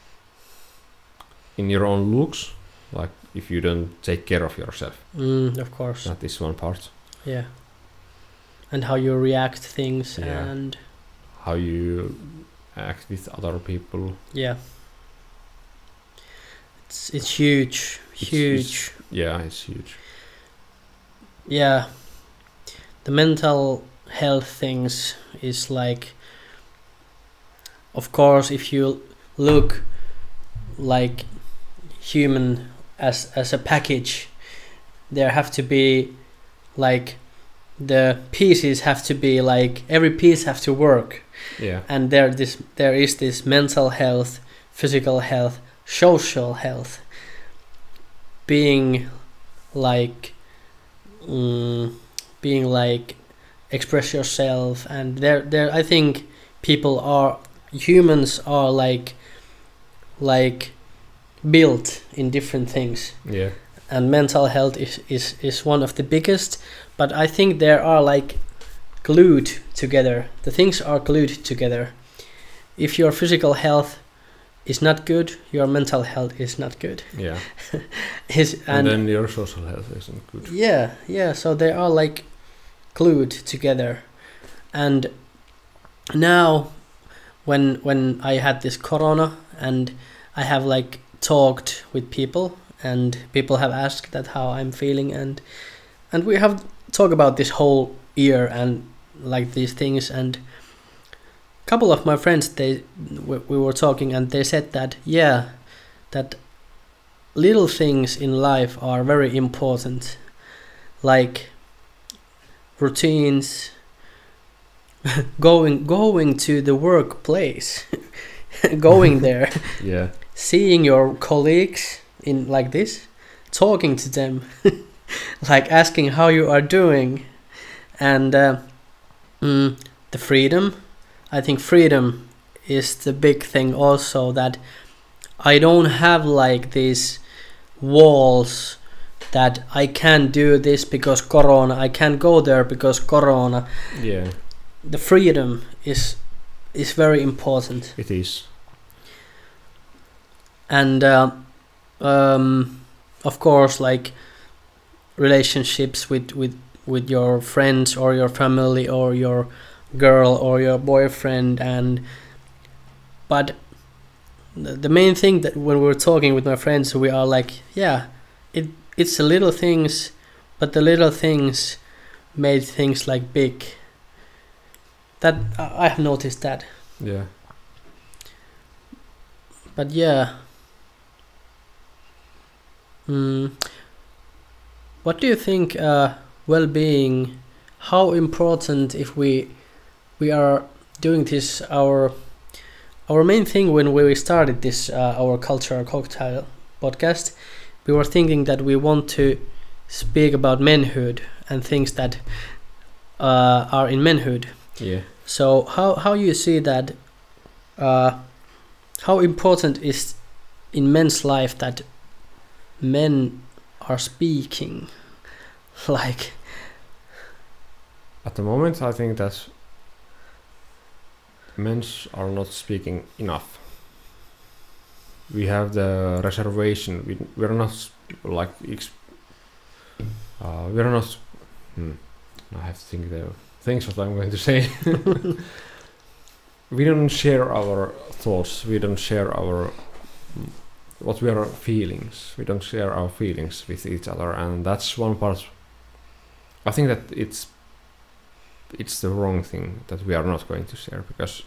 in your own looks. Like if you don't take care of yourself, Mm, of course. that is one part. Yeah. And how you react to things Yeah. and How you act with other people. yeah. It's it's huge, It's- huge. it's- Yeah, it's huge. Yeah. The mental health things is like, of course, if you look like human as as a package, there have to be like the pieces have to be like every piece have to work, Yeah, and there this there is this mental health, physical health, social health, being like mm, being like express yourself, and there there I think people are humans are like like built in different things, yeah, and mental health is is is one of the biggest, but I think there are like glued together, the things are glued together. If your physical health is not good, your mental health is not good. yeah. Is And, and then your social health isn't good. yeah, yeah, so they are like glued together. And now when when I had this corona and I have like talked with people and people have asked that how I'm feeling, and and we have talked about this whole year and like these things, and a couple of my friends, they we, we were talking and they said that yeah, that little things in life are very important, like routines, going going to the workplace, going there, Yeah, seeing your colleagues in like this, talking to them, like asking how you are doing, and uh, mm, the freedom. I think freedom is the big thing also, that I don't have like these walls that I can't do this because corona, I can't go there because corona. yeah, The freedom is is very important. it is. And uh, um, of course, like relationships with, with with your friends or your family or your girl or your boyfriend, and but the, the main thing that when we're talking with my friends, we are like, yeah, it it's the little things, but the little things made things like big. That I I have noticed that. Yeah. But yeah. Mm. What do you think uh, well-being, how important if we we are doing this, our our main thing when we started this uh, our Cultural Cocktail podcast, we were thinking that we want to speak about manhood and things that uh, are in manhood. Yeah. So how how you see that? Uh, how important is in men's life that men are speaking, like? At the moment, I think that men are not speaking enough. We have the reservation. We we're not s- like ex- uh, we're not. Hmm, I have to think the things what I'm going to say. We don't share our thoughts. We don't share our mm, what we are feelings. We don't share our feelings with each other, and that's one part. I think that it's it's the wrong thing that we are not going to share, because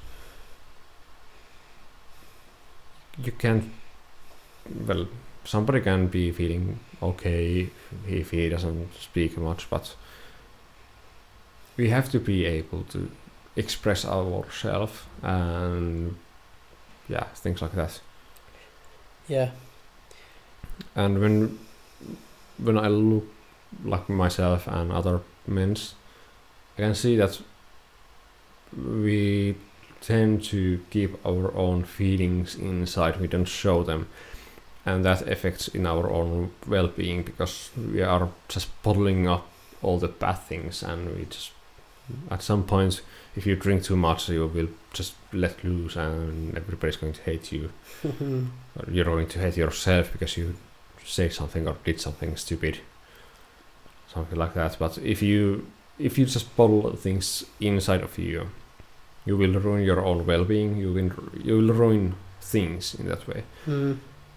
you can't. Well, somebody can be feeling okay if he doesn't speak much, but we have to be able to express ourselves and yeah, things like that. Yeah. And when when I look like myself and other men, I can see that we tend to keep our own feelings inside. We don't show them, and that affects in our own well-being because we are just bottling up all the bad things, and we just at some point, if you drink too much, you will just let loose, and everybody's going to hate you. Or you're going to hate yourself because you say something or did something stupid, something like that. But if you if you just bottle things inside of you, you will ruin your own well-being. You will you will ruin things in that way. Mm.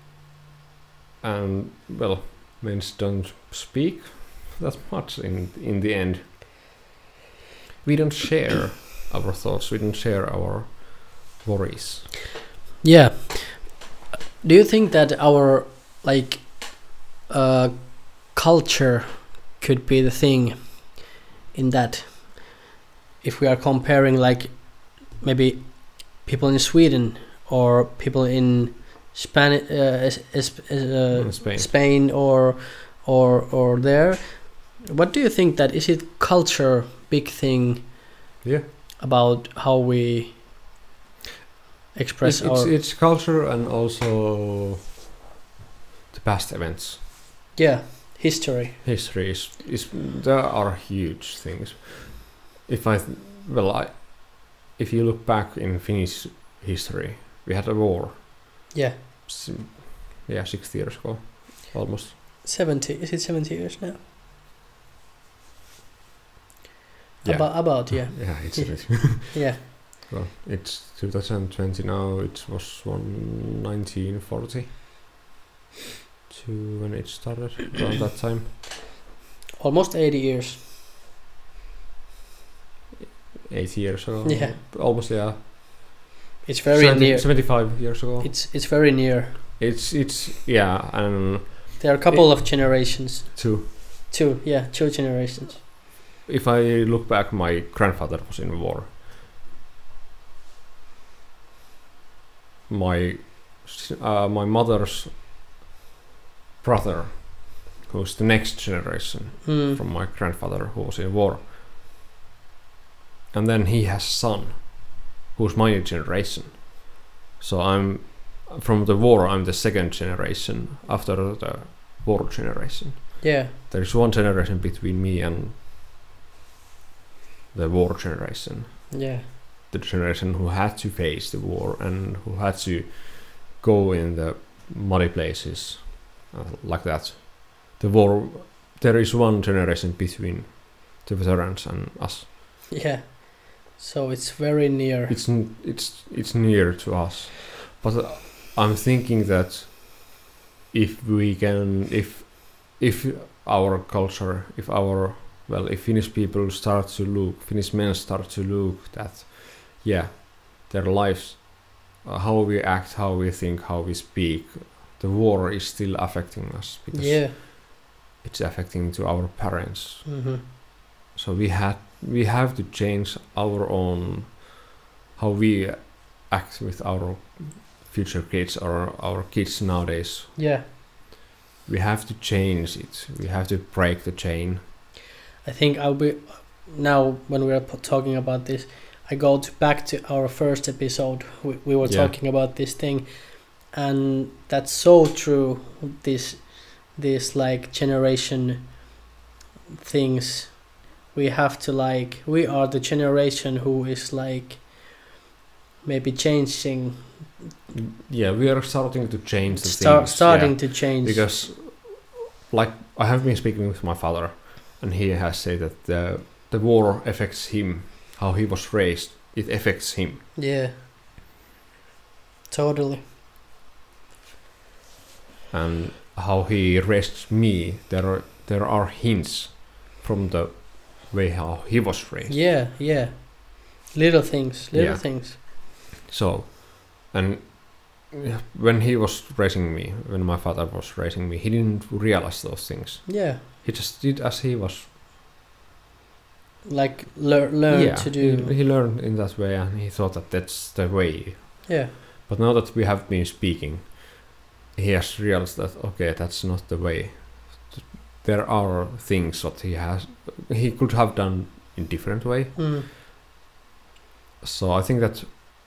And well, men don't speak that much in in the end. We don't share our thoughts. We don't share our worries. Yeah. Do you think that our like uh, culture could be the thing in that? If we are comparing like maybe people in Sweden or people in Spani- uh, es- es- uh, Spain. Spain or or or there, what do you think that is it culture big thing? Yeah. About how we express it's, our it's, it's culture and also the past events. yeah history. History is, is there are huge things. If I th- well I if you look back in Finnish history, we had a war. Yeah. S- yeah, sixty years ago, almost. Seventy. Is it seventy years now? Yeah. About about yeah. Yeah, it's Yeah. a bit. Yeah. Well, it's twenty twenty now. It was one nineteen forty to when it started around that time. Almost eighty years. Eighty years ago. Yeah. Almost, yeah. It's very seventy, near. seventy-five years ago. It's it's very near. It's it's yeah, and There are a couple of generations. two. Two, yeah, two generations. If I look back, my grandfather was in war. My uh, my mother's brother, who's the next generation Mm. from my grandfather, who was in war. And then he has a son, who's my generation. So I'm from the war. I'm the second generation after the war generation. Yeah. There is one generation between me and the war generation. Yeah. The generation who had to face the war and who had to go in the muddy places uh, like that. The war. There is one generation between the veterans and us. Yeah. So it's very near. It's n- it's it's near to us, but uh, I'm thinking that if we can, if if our culture, if our well, if Finnish people start to look, Finnish men start to look that, yeah, their lives, uh, how we act, how we think, how we speak, the war is still affecting us because Yeah. it's affecting to our parents. Mm-hmm. So we had we have to change our own how we act with our future kids or our kids nowadays. Yeah. We have to change it. We have to break the chain. I think I'll be now when we're p- talking about this. I go to back to our first episode. We, we were Yeah. talking about this thing, and that's so true. This, this like generation things. We have to like. We are the generation who is like. Maybe changing. Yeah, we are starting to change the Start things. starting yeah. to change. Because, like, I have been speaking with my father, and he has said that the the war affects him. How he was raised, it affects him. Yeah. Totally. And how he raised me, there are there are hints from the way how he was raised. Yeah, yeah. Little things, little Yeah. things. So, and when he was raising me, when my father was raising me, he didn't realize those things. Yeah. He just did as he was. Like lear- learn yeah, to do. He, he learned in that way, and he thought that that's the way. Yeah. But now that we have been speaking, he has realized that okay, that's not the way. There are things that he has, he could have done in different way. Mm. So I think that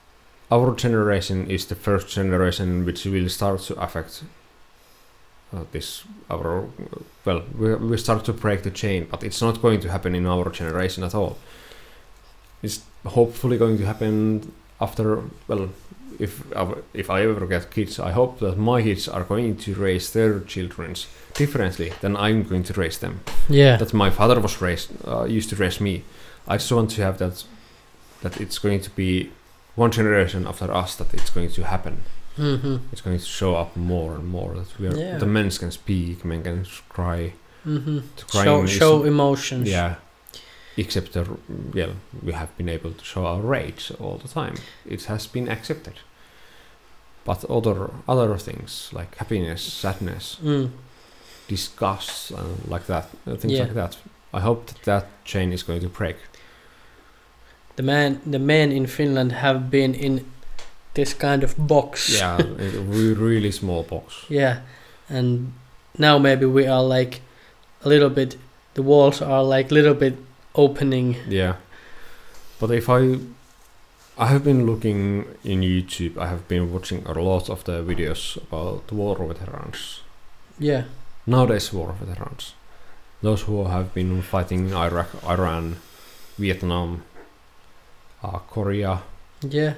our generation is the first generation which will start to affect uh, this our well we we start to break the chain, but it's not going to happen in our generation at all. It's hopefully going to happen after, well, if I- if I ever get kids, I hope that my kids are going to raise their children differently than I'm going to raise them. Yeah. That my father was raised uh, used to raise me. I just want to have that that it's going to be one generation after us that it's going to happen. Mm-hmm. It's going to show up more and more that we are Yeah. the men can speak, men can cry. Mm-hmm. The crying Show, is- show emotions. Yeah. Except that, well, we have been able to show our rage all the time. It has been accepted. But other other things like happiness, sadness, Mm. disgust, and like that, uh, things Yeah. like that. I hope that that chain is going to break. The man, the men in Finland have been in this kind of box. Yeah, a re- really small box. Yeah, and now maybe we are like a little bit. The walls are like little bit opening. Yeah, but if I, I have been looking in YouTube. I have been watching a lot of the videos about war veterans. Yeah. Nowadays, war veterans, those who have been fighting in Iraq, Iran, Vietnam, uh, Korea. Yeah.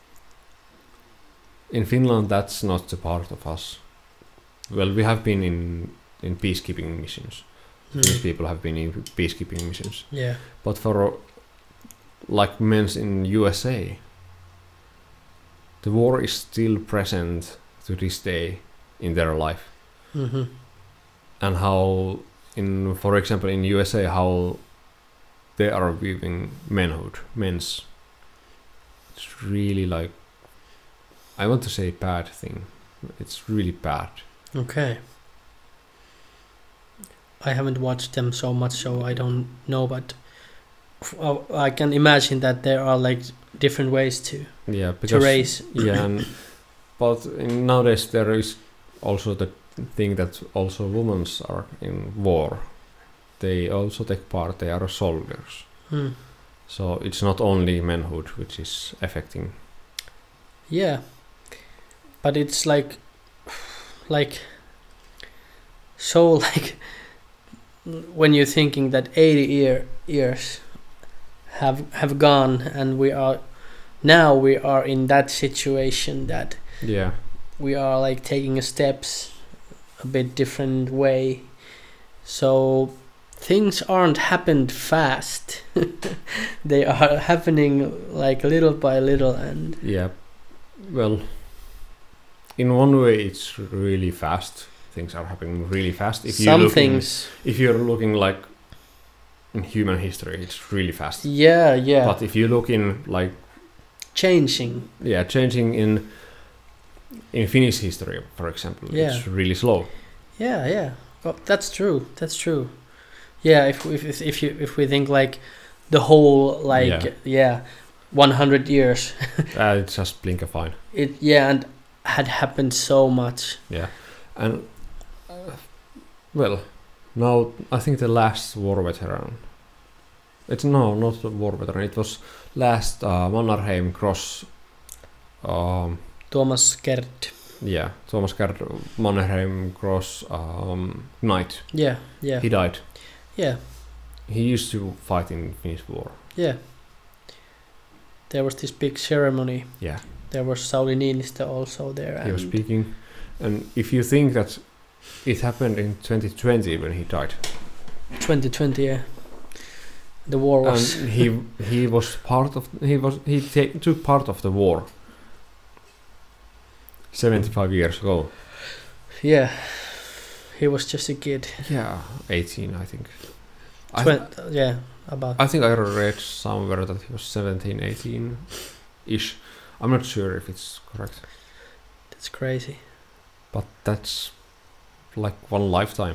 In Finland, that's not a part of us. Well, we have been in in peacekeeping missions. These Mm. people have been in peacekeeping missions. Yeah. But for like men in U S A, the war is still present to this day in their life. Mm-hmm. And how, in for example, in U S A, how they are viewing manhood, men's. It's really like, I want to say bad thing. It's really bad. Okay. I haven't watched them so much, so I don't know, but f- uh, I can imagine that there are like different ways to Yeah, to because raise. yeah, and, but in nowadays there is also the thing that also women are in war. They also take part. They are soldiers. Mm. So it's not only manhood which is affecting. Yeah, but it's like, like, so like, when you're thinking that eighty year years have have gone, and we are now we are in that situation that Yeah, we are like taking steps a bit different way, so things aren't happened fast. They are happening like little by little, and yeah. Well, in one way it's really fast. Things are happening really fast. If you some look in- things, if you're looking like in human history, it's really fast. yeah, yeah, But if you look in like changing. yeah, changing in in Finnish history, for example, Yeah. it's really slow. Yeah, yeah. Well, that's true. That's true. Yeah, if if if if you if we think like the whole like Yeah. yeah, one hundred years, uh, it's just blink of fine. it yeah, and had happened so much. Yeah, and uh, well, now I think the last war veteran. It's no, not the war veteran. It was last uh, Mannerheim Cross. Um, Thomas Gerd. yeah, Thomas Gerd Mannerheim Cross um, Knight. Yeah, yeah, He died. yeah, He used to fight in Finnish war. yeah. There was this big ceremony. Yeah, There was Sauli Niinistö also there. he was and- speaking. And if you think that it happened in twenty twenty when he died, twenty twenty, yeah. The war was. and he he was part of he was he ta- took part of the war seventy-five years ago. Yeah. He was just a kid. Yeah, eighteen, I think. I, Twen- yeah, about. I think I read somewhere that he was seventeen, eighteen ish. I'm not sure if it's correct, That's crazy. but that's like one lifetime.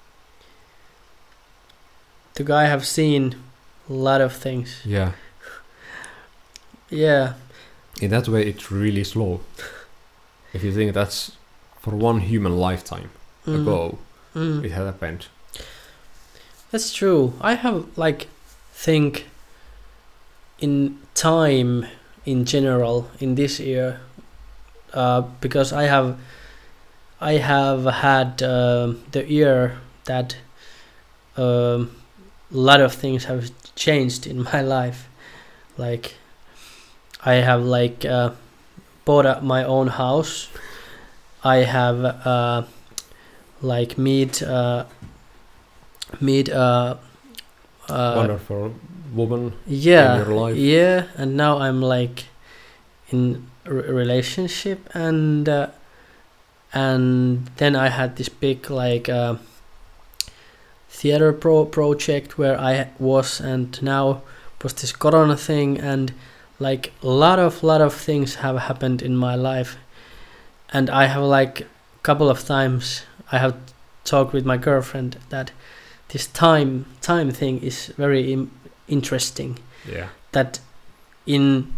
The guy have seen a lot of things. Yeah, Yeah. in that way, it's really slow. If you think that's for one human lifetime Mm. ago, Mm. it had happened. That's true. I have like think in time in general in this year, uh, because I have I have had um the year that um, a lot of things have changed in my life. Like I have like uh, bought a, my own house. I have uh, like meet uh, meet uh, uh, Wonderful woman yeah, in your life. yeah, and now I'm like in a re- relationship, and uh, and then I had this big like uh, theater pro project where I was, and now was this Corona thing, and like a lot of lot of things have happened in my life, and I have like a couple of times I have talked with my girlfriend that this time time thing is very im- interesting. Yeah. That in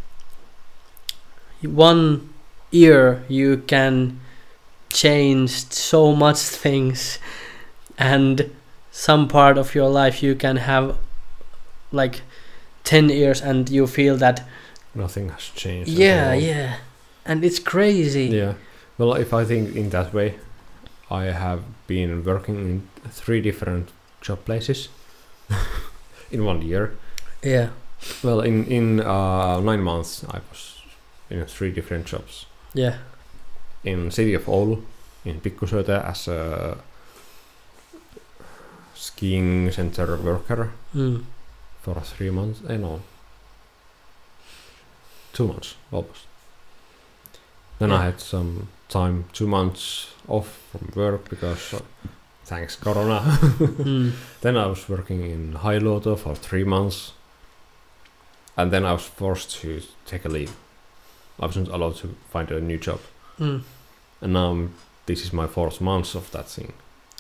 one year you can change so much things, and some part of your life you can have like ten years and you feel that Nothing has changed. at yeah all. yeah and it's crazy. Yeah. Well, if I think in that way, I have been working in three different job places in one year. yeah Well, in in uh, nine months, I was in three different jobs. yeah In city of Oulu, in Pikkusuote as a skiing center worker mm. for three months. Eh, no, two months almost. Then Yeah. I had some time, two months off from work because uh, thanks Corona. mm. Then I was working in Hailuoto for three months, and then I was forced to take a leave. I wasn't allowed to find a new job, Mm. and now I'm- this is my fourth month of that thing.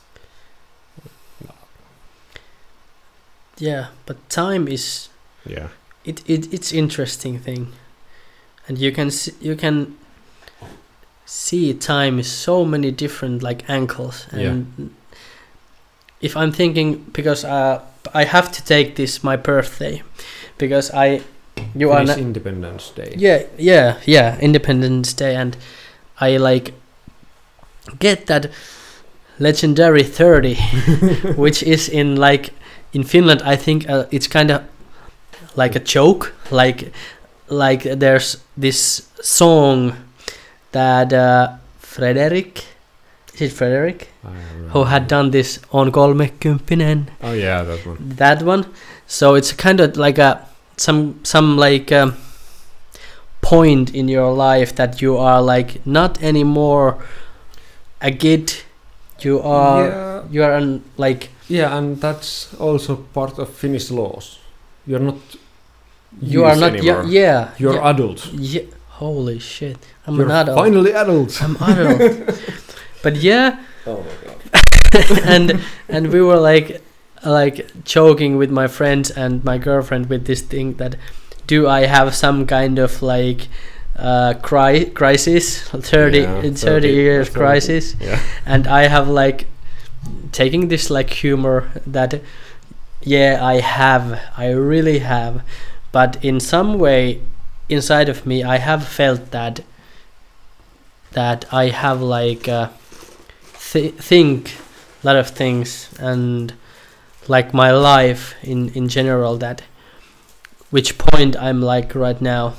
yeah but time is Yeah, it, it it's interesting thing, and you can see, you can see time is so many different like angles, and Yeah. if I'm thinking, because uh, I have to take this my birthday, because I you are Finnish na- Independence Day. yeah yeah yeah Independence Day, and I like get that legendary thirty which is in like in Finland I think uh, it's kind of like a joke, like like there's this song that uh, Frederick is it Frederick I don't know. who had done this on kolmekymppinen, Oh yeah, that one. that one. So it's kind of like a some some like um, point in your life that you are like not anymore a kid, you are Yeah, you are an, like yeah, and that's also part of Finnish laws. You're not. you are youth not anymore. yeah yeah You're yeah, adult. yeah. Holy shit, I'm You're an adult. finally adult. I'm adult. But yeah, Oh my god. and and we were like like joking with my friends and my girlfriend with this thing that do I have some kind of like uh cri- crisis thirty Yeah, thirty, thirty years thirty. crisis, Yeah. and I have like taking this like humor that yeah I have I really have, but in some way inside of me I have felt that that I have like uh, th- think a lot of things, and like my life in in general, that which point I'm like right now.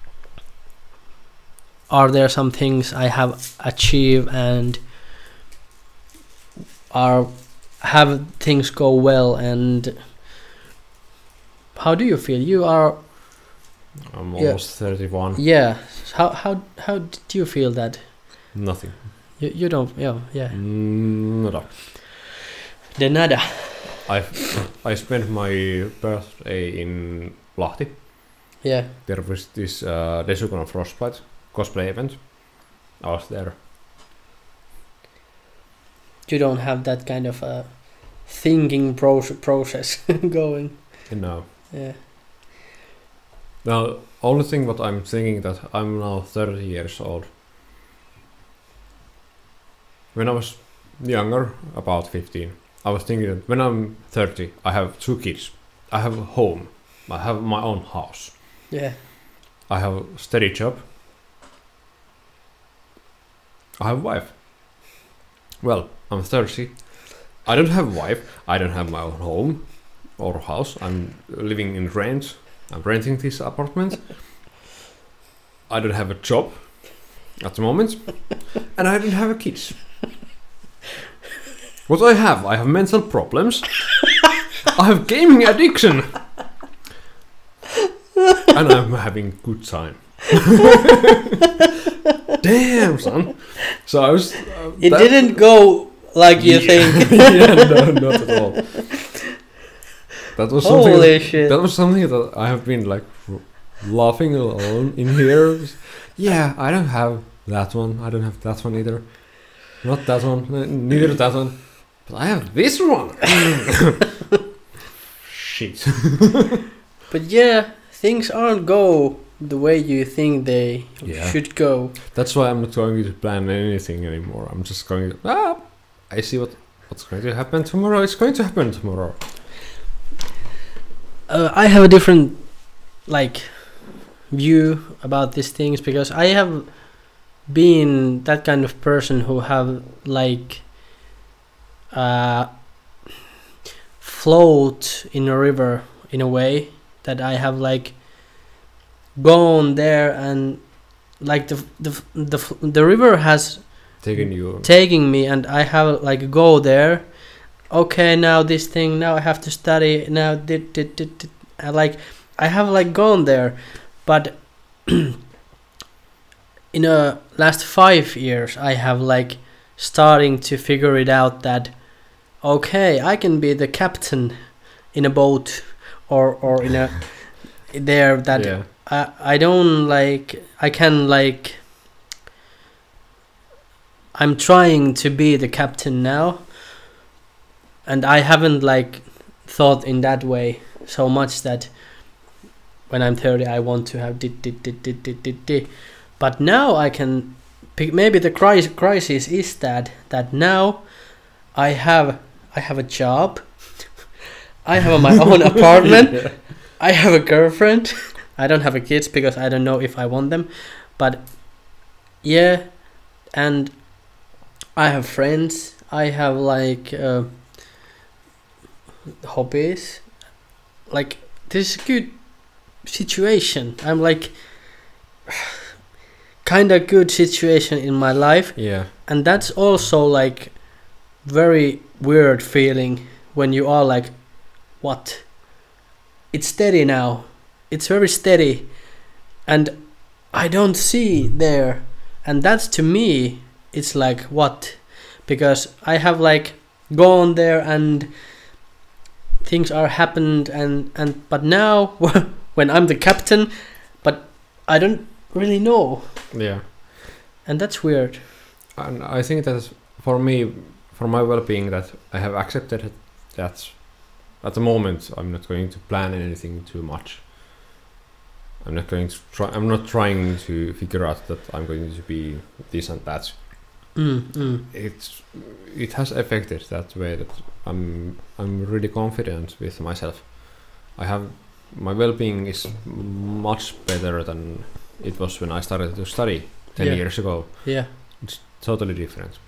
Are there some things I have achieved, and are have things go well, and how do you feel? You are I'm Yeah. almost thirty-one. yeah. How how how did you feel that? Nothing. You you don't yeah yeah. Mm, no. De nada. I I spent my birthday in Lahti. Yeah. There was this uh, Desukon Frostbite cosplay event. I was there. You don't have that kind of a thinking pro- process going. No. Yeah. Now, only thing what I'm thinking that I'm now thirty years old. When I was younger, about fifteen, I was thinking that when I'm thirty, I have two kids. I have a home. I have my own house. Yeah. I have a steady job. I have a wife. Well, I'm thirty. I don't have a wife. I don't have my own home or house. I'm living in rent. I'm renting this apartment. I don't have a job at the moment. And I don't have a kids. What I have? I have mental problems. I have gaming addiction. And I'm having good time. Damn, son. So I was. Uh, It that- didn't go like you Yeah. think. Yeah, no, not at all. That was something. Holy that, shit. that was something that I have been like r- laughing alone in here. Yeah, I don't have that one. I don't have that one either. Not that one. n- Neither that one. But I have this one. Shit. But yeah, things aren't go the way you think they Yeah. should go. That's why I'm not going to plan anything anymore. I'm just going to. Ah, I see what what's going to happen tomorrow. It's going to happen tomorrow. Uh, I have a different like view about these things because I have been that kind of person who have like uh, float in a river in a way that I have like gone there and like the the the the river has Taking you. taking me and I have like go there. Okay, now this thing. Now I have to study. Now did did did, did. I like I have like gone there, but in the last five years I have like starting to figure it out that okay, I can be the captain in a boat or or in a there that Yeah. I I don't like I can like I'm trying to be the captain now, and I haven't like thought in that way so much that when I'm thirty I want to have did did did did did did, did. But now I can pick, maybe the crisis crisis is that that now I have I have a job, I have my own apartment, Yeah. I have a girlfriend. I don't have a kids because I don't know if I want them, but yeah, and I have friends. I have like uh, hobbies. Like this is a good situation. I'm like kind of good situation in my life, Yeah. and that's also like very weird feeling when you are like, what? It's steady now. It's very steady, and I don't see there, and that's to me. It's like what? Because I have like gone there and things are happened and and but now when I'm the captain, but I don't really know, Yeah. and that's weird. And I think that for me, for my well-being, that I have accepted it, that at the moment I'm not going to plan anything too much. I'm not going to try. I'm not trying to figure out that I'm going to be this and that. Mm, mm. It's it has affected that way that I'm I'm really confident with myself. I have my well-being is much better than it was when I started to study ten Yeah. years ago. Yeah, Totally different.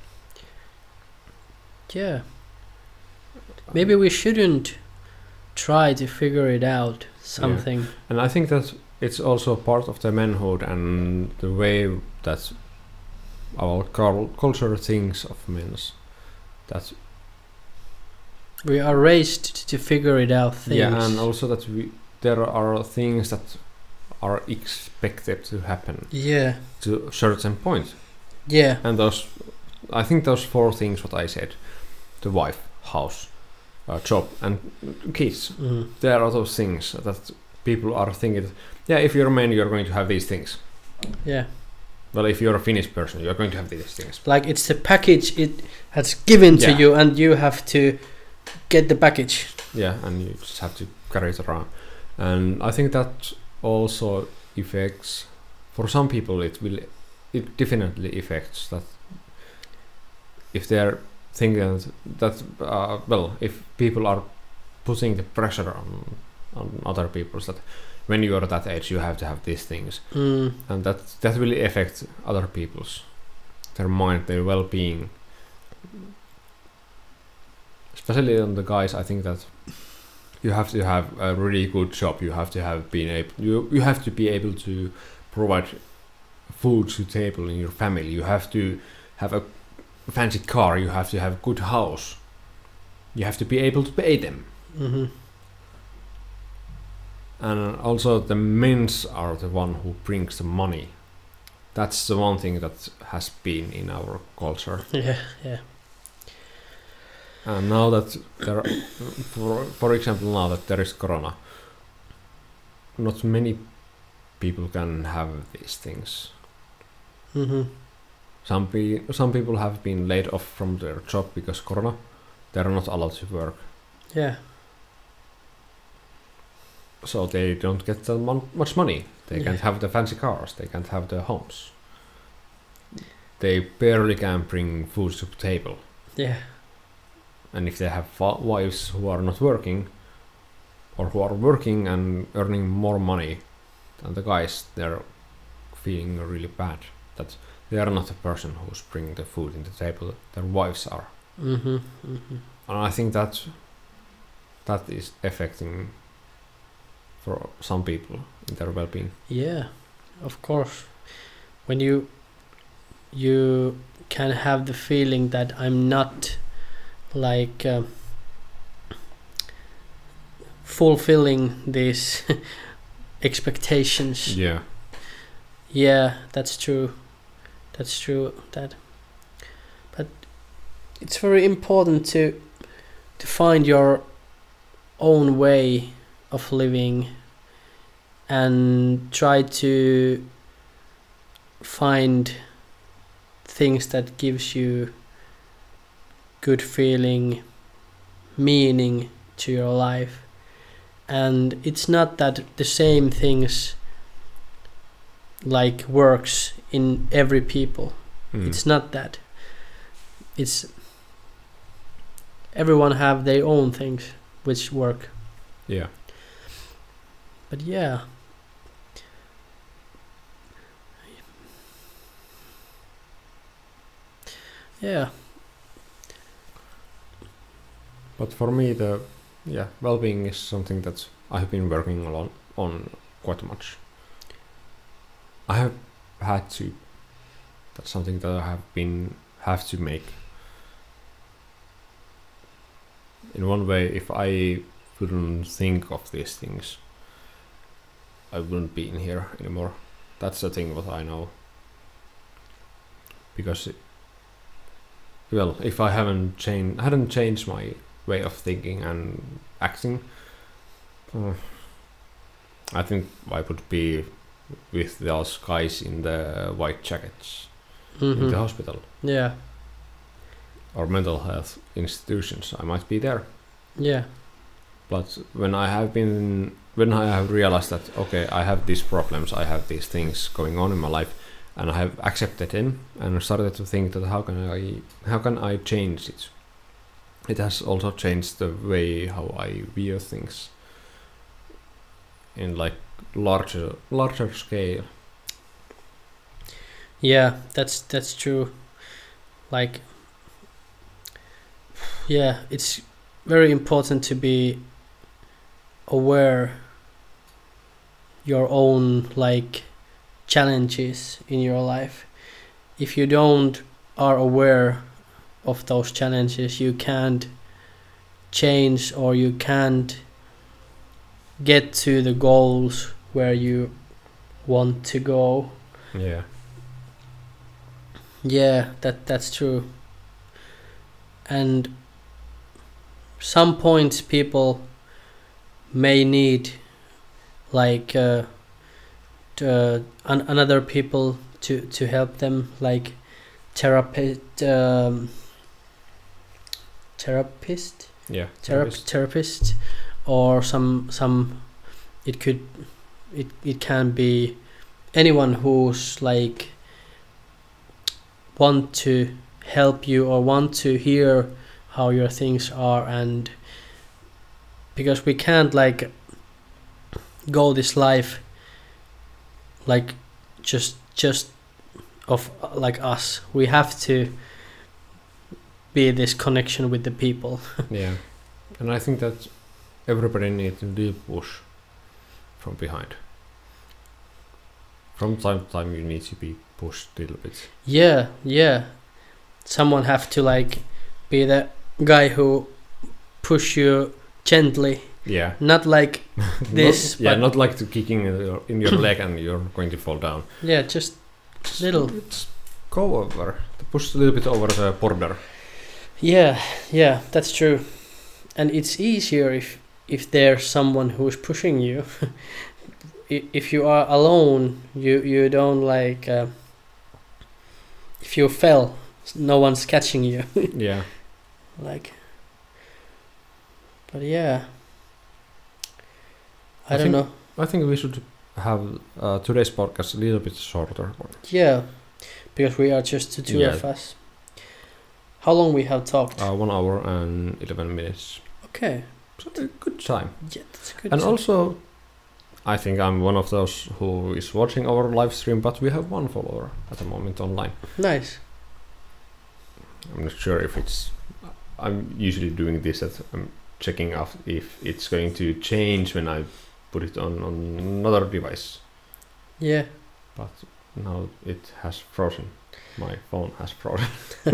yeah. Maybe we shouldn't try to figure it out. Something. And I think that it's also part of the manhood and the way that our cul- culture thinks of men. That We are raised to figure it out. Things. yeah, and also that we there are things that are expected to happen yeah, to a certain point. yeah, And those, I think those four things what I said, the wife, house, uh, job, and kids. mm. There are those things that people are thinking. Yeah, if you're a man, you're going to have these things. yeah. Well, if you're a Finnish person, you're going to have these things. Like it's the package it has given to Yeah. you, and you have to get the package. Yeah, and you just have to carry it around. And I think that also affects, for some people, it will, it definitely affects that. If they're thinking that, uh, well, if people are putting the pressure on on other people, that when you're that age, you have to have these things, Mm. and that that really affects other people's, their mind, their well-being. Especially on the guys, I think that you have to have a really good job. You have to have been able. You you have to be able to provide food to table in your family. You have to have a fancy car. You have to have a good house. You have to be able to pay them. Mm-hmm. And also the men's are the one who brings the money. That's the one thing that has been in our culture. Yeah, yeah. And now that there, for, for example, now that there is corona, not many people can have these things. Mm-hmm. Some pe- some people have been laid off from their job because corona. They are not allowed to work, Yeah. so they don't get that mon- much money. They Yeah. can't have the fancy cars. They can't have the homes. They barely can bring food to the table. Yeah. And if they have fa- wives who are not working, or who are working and earning more money than the guys, they're feeling really bad that they are not the person who's bringing the food in the table. Their wives are. Mm-hmm. Mm-hmm. And I think that that is affecting for some people in their well-being. Yeah, of course. When you you can have the feeling that I'm not like uh, fulfilling these expectations. Yeah. Yeah, that's true. That's true. That, but it's very important to to find your own way of living and try to find things that gives you good feeling, meaning to your life. And it's not that the same things like works in every people. Mm. It's not that. It's everyone have their own things which work. Yeah. But yeah. Yeah. But for me, the yeah well-being is something that I've been working on on quite much. I have had to. That's something that I have been have to make. In one way, if I wouldn't think of these things, I wouldn't be in here anymore. That's the thing what I know. Because, it, well, if I haven't changed, hadn't changed my way of thinking and acting, uh, I think I would be with those guys in the white jackets Mm-hmm. in the hospital Yeah. or mental health institutions. I might be there. Yeah. But when I have been, when I have realized that okay, I have these problems, I have these things going on in my life, and I have accepted them and started to think that how can I, how can I change it? It has also changed the way how I view things in like larger, larger scale. Yeah, that's that's true. Like, yeah, it's very important to be aware your own like challenges in your life. If you don't are aware of those challenges, you can't change or you can't get to the goals where you want to go. Yeah. Yeah, that that's true. And some points people may need like uh, to, uh, an- another people to to help them, like therapist um, therapist Yeah. Therap- therapist or some some it could it it can be anyone who's like want to help you or want to hear how your things are. And because we can't like go this life like just just of uh, like us. We have to be this connection with the people. Yeah, and I think that everybody needs to do push from behind. From time to time, you need to be pushed a little bit. Yeah, yeah. Someone have to like be the guy who push you gently, Yeah. not like this. Not, yeah, but not like to kicking in your, in your leg and you're going to fall down. yeah, just little. Just go over. To push a little bit over the border. Yeah, yeah, that's true. And it's easier if if there's someone who's pushing you. I- if you are alone, you you don't like. Uh, if you fell, no one's catching you. Yeah. Like. But yeah. I, I don't think- know. I think we should have uh, today's podcast a little bit shorter. Yeah, because we are just the two Yeah. of us. How long we have talked? Uh, one hour and eleven minutes. Okay. So a good time. Yeah, that's good. And time. also, I think I'm one of those who is watching our live stream, but we have one follower at the moment online. Nice. I'm not sure if it's. I'm usually doing this that I'm checking out if it's going to change when I put it on, on another device. Yeah. But now it has frozen. My phone has frozen.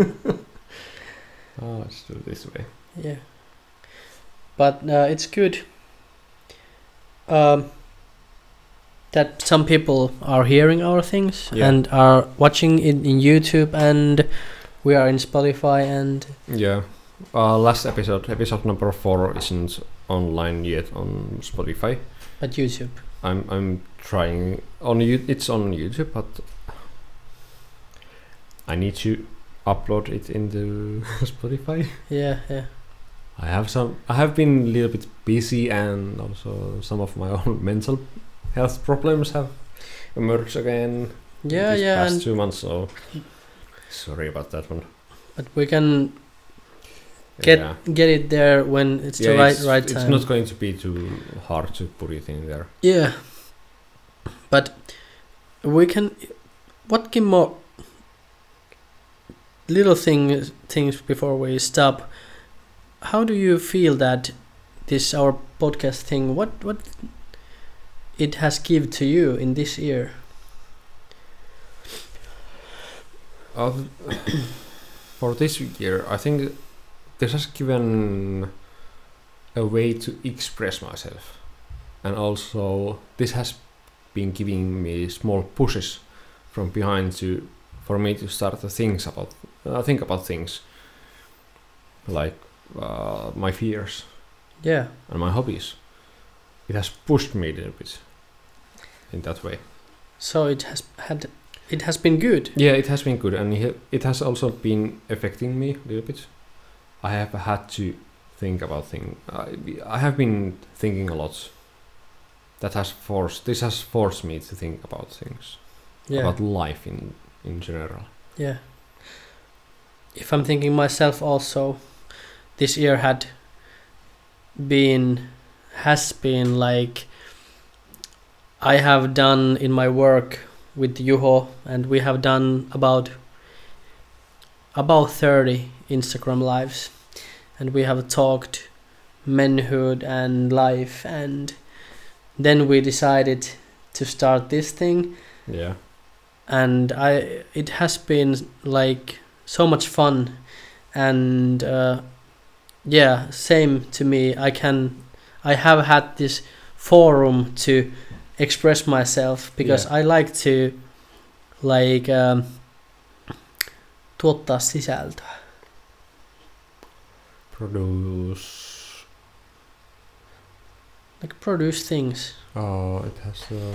Oh, let's do it this way. Yeah. But uh, it's good um, that some people are hearing our things Yeah. and are watching it in YouTube, and we are in Spotify and Yeah. Uh, last episode, episode number four, isn't online yet on Spotify. at YouTube. I'm I'm trying on you. It's on YouTube, but I need to upload it into Spotify. Yeah, yeah. I have some. I have been a little bit busy, and also some of my own mental health problems have emerged again. Yeah, these yeah, past and two months. So sorry about that one. but we can get Yeah. get it there when it's Yeah, the right it's, right it's time. not going to be too hard to put it in there. Yeah, but we can. What Kimmo? Little things things before we stop. How do you feel that this our podcast thing? What what it has give to you in this year? Uh, for this year, I think this has given a way to express myself, and also this has been giving me small pushes from behind to for me to start to think about uh, think about things like uh, my fears Yeah, and my hobbies. It has pushed me a little bit in that way. so it has had it has been good. Yeah, it has been good, and it it has also been affecting me a little bit. I have had to think about things. I, I have been thinking a lot. That has forced. This has forced me to think about things, Yeah, about life in in general. yeah. If I'm thinking myself also, this year had been has been like I have done in my work with Juho, and we have done about about thirty Instagram lives, and we have talked manhood and life, and then we decided to start this thing, Yeah, and I it has been like so much fun, and uh, yeah, same to me. I can I have had this forum to express myself because Yeah. I like to like um, tuottaa sisältöä. produce. Like produce things. Oh, it has. Uh,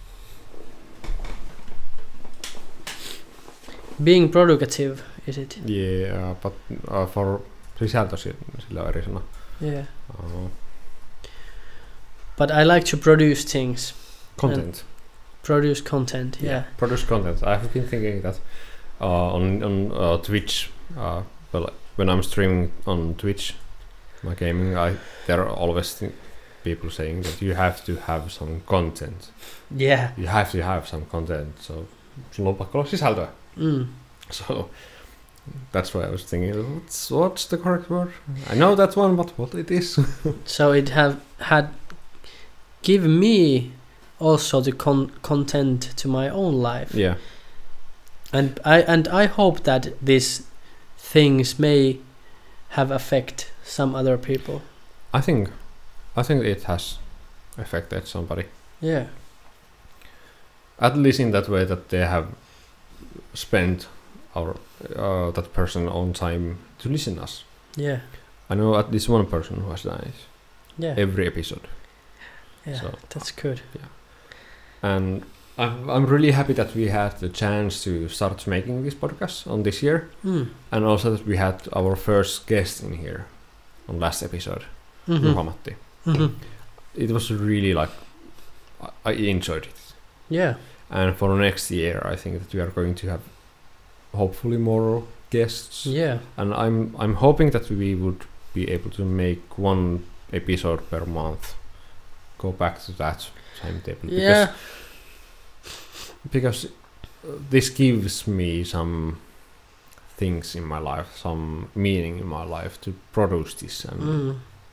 Being productive, is it? yeah, but uh, for sisältö si- sillä on eri sana. Yeah. Uh, But I like to produce things. content. Produce content, yeah. Produce content. I have been thinking that uh, on on uh, Twitch. Uh, well, when I'm streaming on Twitch, my gaming, I there are always th- people saying that you have to have some content. Yeah. You have to have some content. So sulla on pakko olla sisältöä. Mm. So that's why I was thinking, what's, what's the correct word? I know that one, but what it is? So it have had given me also the con- content to my own life. Yeah. And I and I hope that these things may have affect some other people. I think, I think it has affected somebody. Yeah. At least in that way that they have spent our uh, that person own time to listen us. Yeah. I know at least one person who has done it. Yeah. Every episode. Yeah. So, that's good. Yeah. And I'm I'm really happy that we had the chance to start making this podcast on this year, Mm. and also that we had our first guest in here on last episode, Mm-hmm. Juha-Matti. Mm-hmm. It was really like I, I enjoyed it. Yeah. And for next year, I think that we are going to have hopefully more guests. Yeah. And I'm I'm hoping that we would be able to make one episode per month. Go back to that timetable. Yeah. Because, because uh, this gives me some things in my life, some meaning in my life to produce this. And Mm.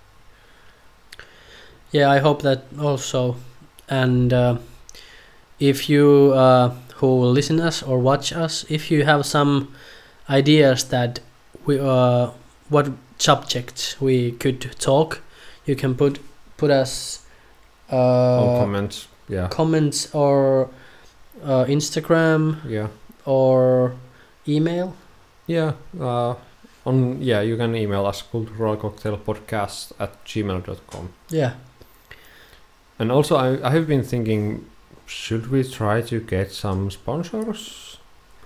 Yeah, I hope that also. And uh, if you uh, who listen us or watch us, if you have some ideas that we uh, what subjects we could talk, you can put put us uh, all comments, yeah, comments or uh, Instagram yeah, or email. yeah. Uh, on yeah, you can email us culturalcocktailpodcast at gmail dot com. Yeah. And also, I I have been thinking, should we try to get some sponsors?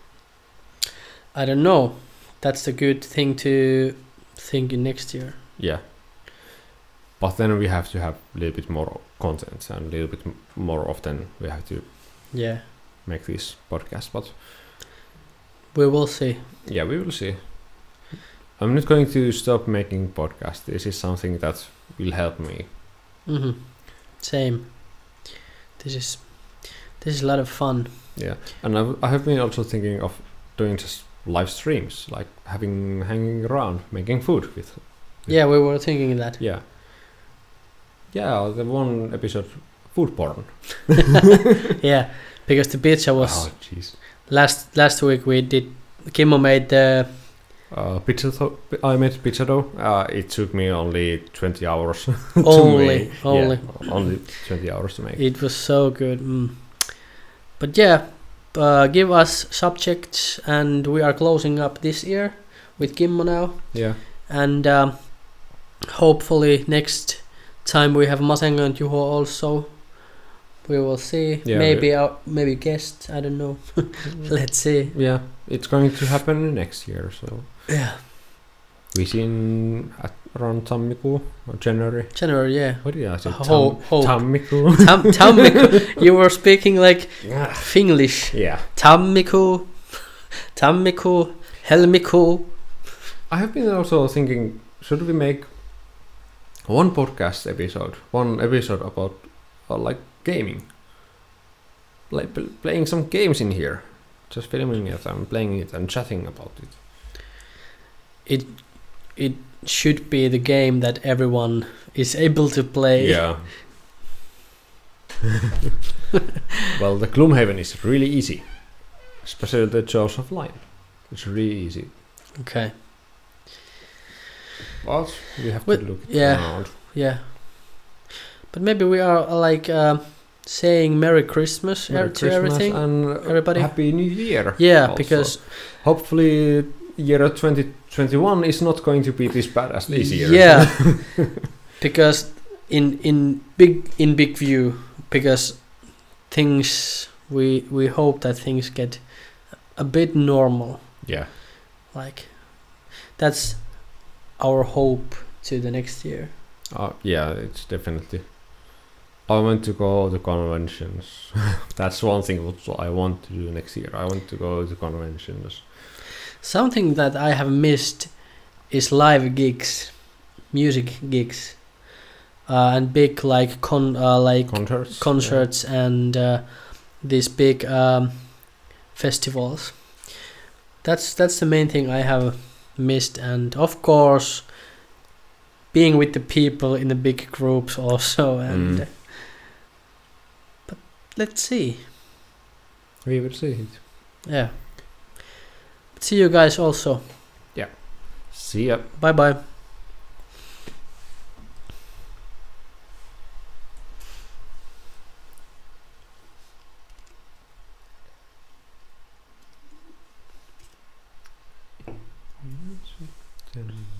I don't know. That's a good thing to think in next year. Yeah. But then we have to have a little bit more content and a little bit m- more often we have to Yeah. make this podcast. But We will see. yeah, we will see. I'm not going to stop making podcasts. This is something that will help me. Mm-hmm. Same. This is this is a lot of fun. Yeah. And I've, I have been also thinking of doing just live streams, like having hanging around, making food with. Yeah, we were thinking that. Yeah. Yeah, the one episode, food porn. Yeah, because the pizza was Oh, jeez. last last week we did. Kimmo made the Uh, pizza. Th- I made pizza dough. Uh, it took me only twenty hours. to only make. only. Yeah, only twenty hours to make. It was so good. Mm. But yeah, uh, give us subjects, and we are closing up this year with Kimmo now, Yeah. and um, hopefully next time we have Masengo and Juho also. We will see. Yeah, maybe we- our maybe guests. I don't know. Let's see. Yeah, it's going to happen next year. So Yeah, we seen at around tammikuu or January. January. Yeah. What did I say? Ho- hope. Tammikuu. Tam tammikuu. You were speaking like Finglish. Yeah. Tammikuu, tammikuu, helmikuu. I have been also thinking, should we make one podcast episode, one episode about uh, like gaming, like pl- playing some games in here, just filming it and playing it and chatting about it. It it should be the game that everyone is able to play. Yeah. Well, the Gloomhaven is really easy, especially the Jaws of Lion. It's really easy. Okay. But we have Well, to look it yeah. around. Yeah. But maybe we are uh, like uh, saying Merry Christmas Merry er- to Christmas everything. and uh, everybody. Happy New Year. Yeah, also. because hopefully year twenty twenty-one is not going to be this bad as this year. Yeah. Because in in big in big view, because things we we hope that things get a bit normal. Yeah. Like that's our hope to the next year. Uh, yeah, it's definitely. I want to go to conventions. That's one thing what I want to do next year. I want to go to conventions. Something that I have missed is live gigs, music gigs. uh, and big like con uh, like Concerts. concerts and uh, these big um, festivals. That's that's the main thing I have missed, and of course, being with the people in the big groups also. And Mm. uh, but let's see. Yeah. We will see it. Yeah. See you guys also. See ya. Bye bye. Ten.